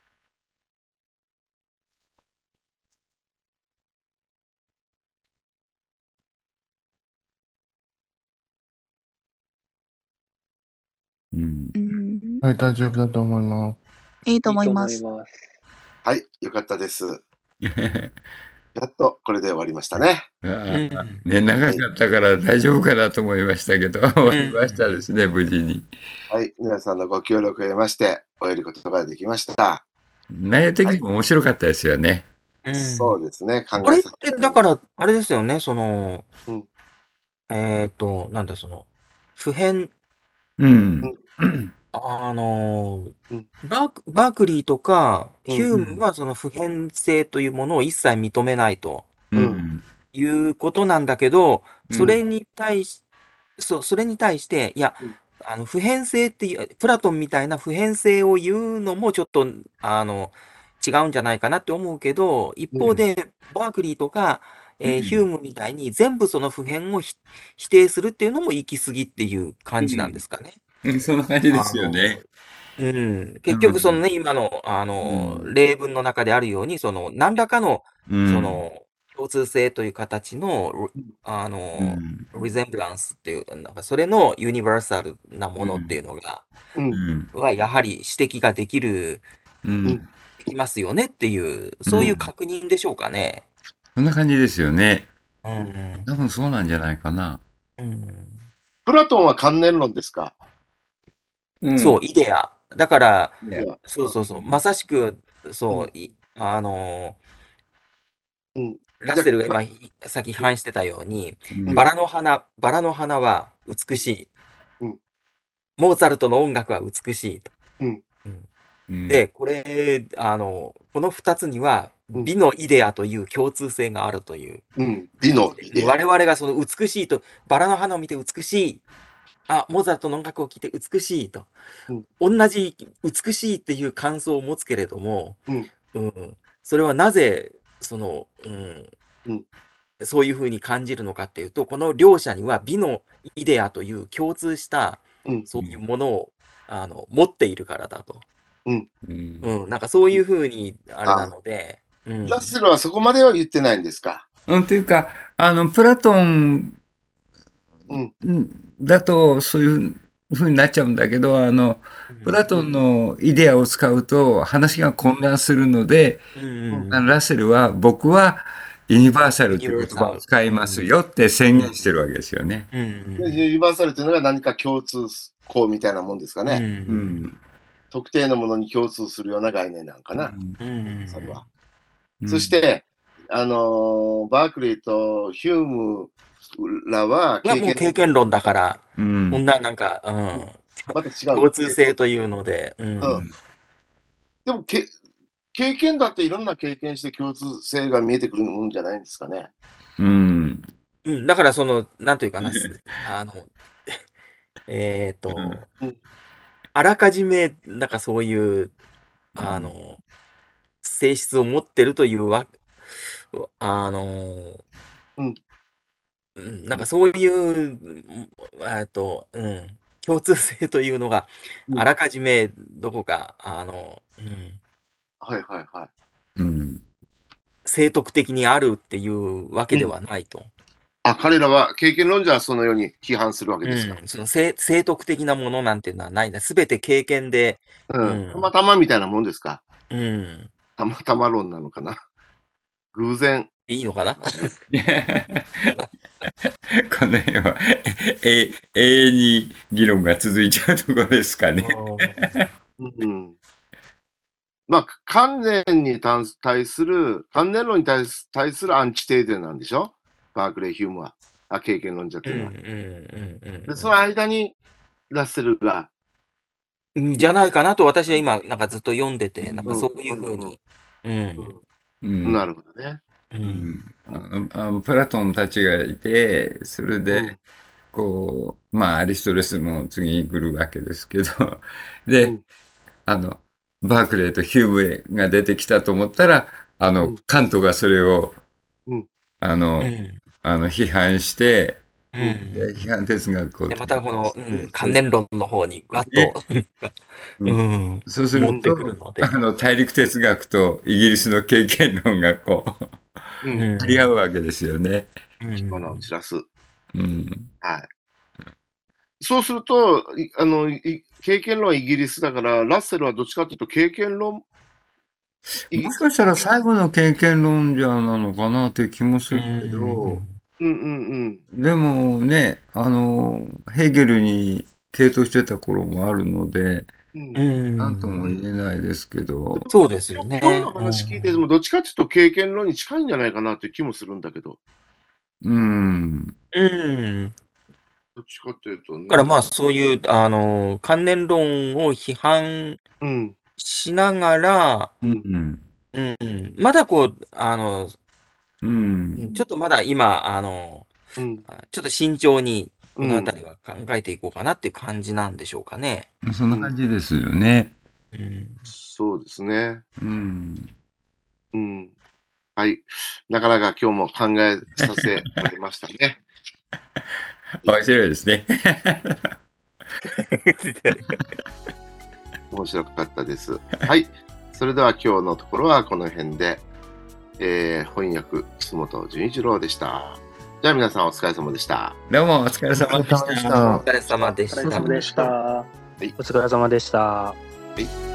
うん。 うん、 はい、大丈夫だと思います。 いいといいと思います。 思います。 はい、よかったです。やっとこれで終わりましたね。 あうん。 ーね、長かったから大丈夫かなと思いましたけど、終わりましたですね、無事に。 はい、皆さんのご協力を得まして、終えることができました。 内容的にも面白かったですよね。 うん。 そうですね、考あれっえさせて、だから、あれですよね、その、 うんえっと、なんだ、その、普遍、 うん。 あのうん、 バーク、バークリーとか、 うんヒュームはその普遍性というものを一切認めないとうん。 いうことなんだけど、 うんそれに対し、そう、それに対して、いやうん、 あの、普遍性っていう、プラトンみたいな普遍性を言うのもちょっと、あの、違うんじゃないかなって思うけど、一方で、バークリーとか、えーうんヒュームみたいに全部その普遍をひ否定するっていうのも行き過ぎっていう感じなんですかね。 うんそんな感じですよね。 うん、結局そのね、今の、あの、 うん例文の中であるように、その、何らかの、 うん。 その、共通性という形の、あうの、 ん。 リゼンブランスっていう、なんかそれのユニバーサルなものっていうのが、 う、 うんん。 はやはり指摘ができる、 うん。 うんできますよねっていう、そういう確認でしょうかね。 そんな感じですよね。 うん。 多分そうなんじゃないかな。 うん。 プラトンは観念論ですか。 うんそう、イデア。だから、 いやそうそうそう、まさしく、そう、いあのうん、 ラッセルが今、さっき批判してたように、 うんバラの花、バラの花は美しい。 うんモーツァルトの音楽は美しいと。 うんうんで、これ、あの、この二つには、 うん美のイデアという共通性があるという。 うん、美のイデア。 我々がその美しいと、バラの花を見て美しい。あ、モーツァルトの音楽を聴いて美しいと。同じ美しいっていう感想を持つけれども、 うんうんそれはなぜ、その、うんうんそういうふうに感じるのかっていうと、この両者には美のイデアという共通した、 うんそういうものを、あの持っているからだと。 うんうん、なんかそういうふうにあれなので、うん、 ラッセルはそこまでは言ってないんですか。 うん、というか、あの、プラトンうんだとそういうふうになっちゃうんだけど、あの、プラトンのイデアを使うと話が混乱するので、 うんうんあのラッセルは僕はユニバーサルという言葉を使いますよって宣言してるわけですよね。 うんでユニバーサルというのが何か共通項みたいなもんですかうんね。 うん。 特定のものに共通するような概念なんかな。 うんそれは。 うんそし、て、あのーバークリーとヒュームらははもう経験論だから、 うんこんななんか、うん、 また違う。 共通性というので、うんうんでもけ、経験だっていろんな経験して共通性が見えてくるもんじゃないんですかね。 うん。 うん、だからその、なんというかな、あの、えっと、 うんあらかじめ、なんかそういう、あの、性質を持ってるというわ、あの、 うんうんなんかそういう、うんえっと、うん、 共通性というのがうんあらかじめどこか、あの、うん、 はいはいはい。 うん。 正徳的にあるっていうわけではないと。 あ、彼らは経験論者はそのように批判するわけうですか。 ん、その正正徳的なものなんていうのはないんだ。すべて経験で、 うん。 うんたまたまみたいなもんですか。 うん、 たまたま論なのかな。偶然。 いいのかな。 この辺は、え、永遠に議論が続いちゃうところですかね。 うん。まあ、関連に対する、関連論に対す対するアンチテーゼなんでしょ、バークレー・ヒュームは。あ、経験論者っていうのは。 うんうんうんうんで、その間にラッセルが、 うんじゃないかなと私は今なんかずっと読んでて、なんかうんそういうふうに。うんうん。 なるほどね。 ううんん。あの、あのプラトンたちがいて、それうんで、こう、まあ、アリストレスも次に来るわけですけど、 うで、 んあの、バークレーとヒュームが出てきたと思ったら、あのうん、 カントがそれを、 うんあの、 うんあの、批判して、 うんで批判哲学をで、またこの、うん、関そう連論の方にわっねと、 ううん、 そうする持ってくとるの、で。 あの、大陸哲学とイギリスの経験論がこう、 うん。 うん張り合うわけですよね。 うん花を散らす。 うん。 はい。そうすると、いあの、い経験論はイギリスだから、ラッセルはどっちかというと経験論、いもしかしたら最後の経験論者なのかなって気もするけど、 うんうんうん。 でもね、あの、ヘーゲルに傾倒してた頃もあるので、 うんうんなんとも言えないですけど、 そうですよね。 今日の話聞いてても、どっちかというと経験論に近いんじゃないかなという気もするんだけど、 うん。 うん。 どっちかというとね。 だからまあそういう、あの、関連論を批判うん。 しながら、 うん。 うん、まだこう、あの、 うん。 ちょっとまだ今、あの、 うん。 ちょっと慎重に、このあうん。 たりは考えていこうかなっていう感じなんでしょうかね。 そんな感じですよね。 うん。 そうですね。 うん。 うん。はい。なかなか今日も考えさせられましたね。 面白いですね。 面白かったです。はい。それでは今日のところはこの辺で、えー、翻訳、楠本純一郎でした。じゃあ皆さんお疲れ様でした。 どうもお疲れ様でした。 お疲れ様でした。 お疲れ様でした。 お疲れ様でした。 はい。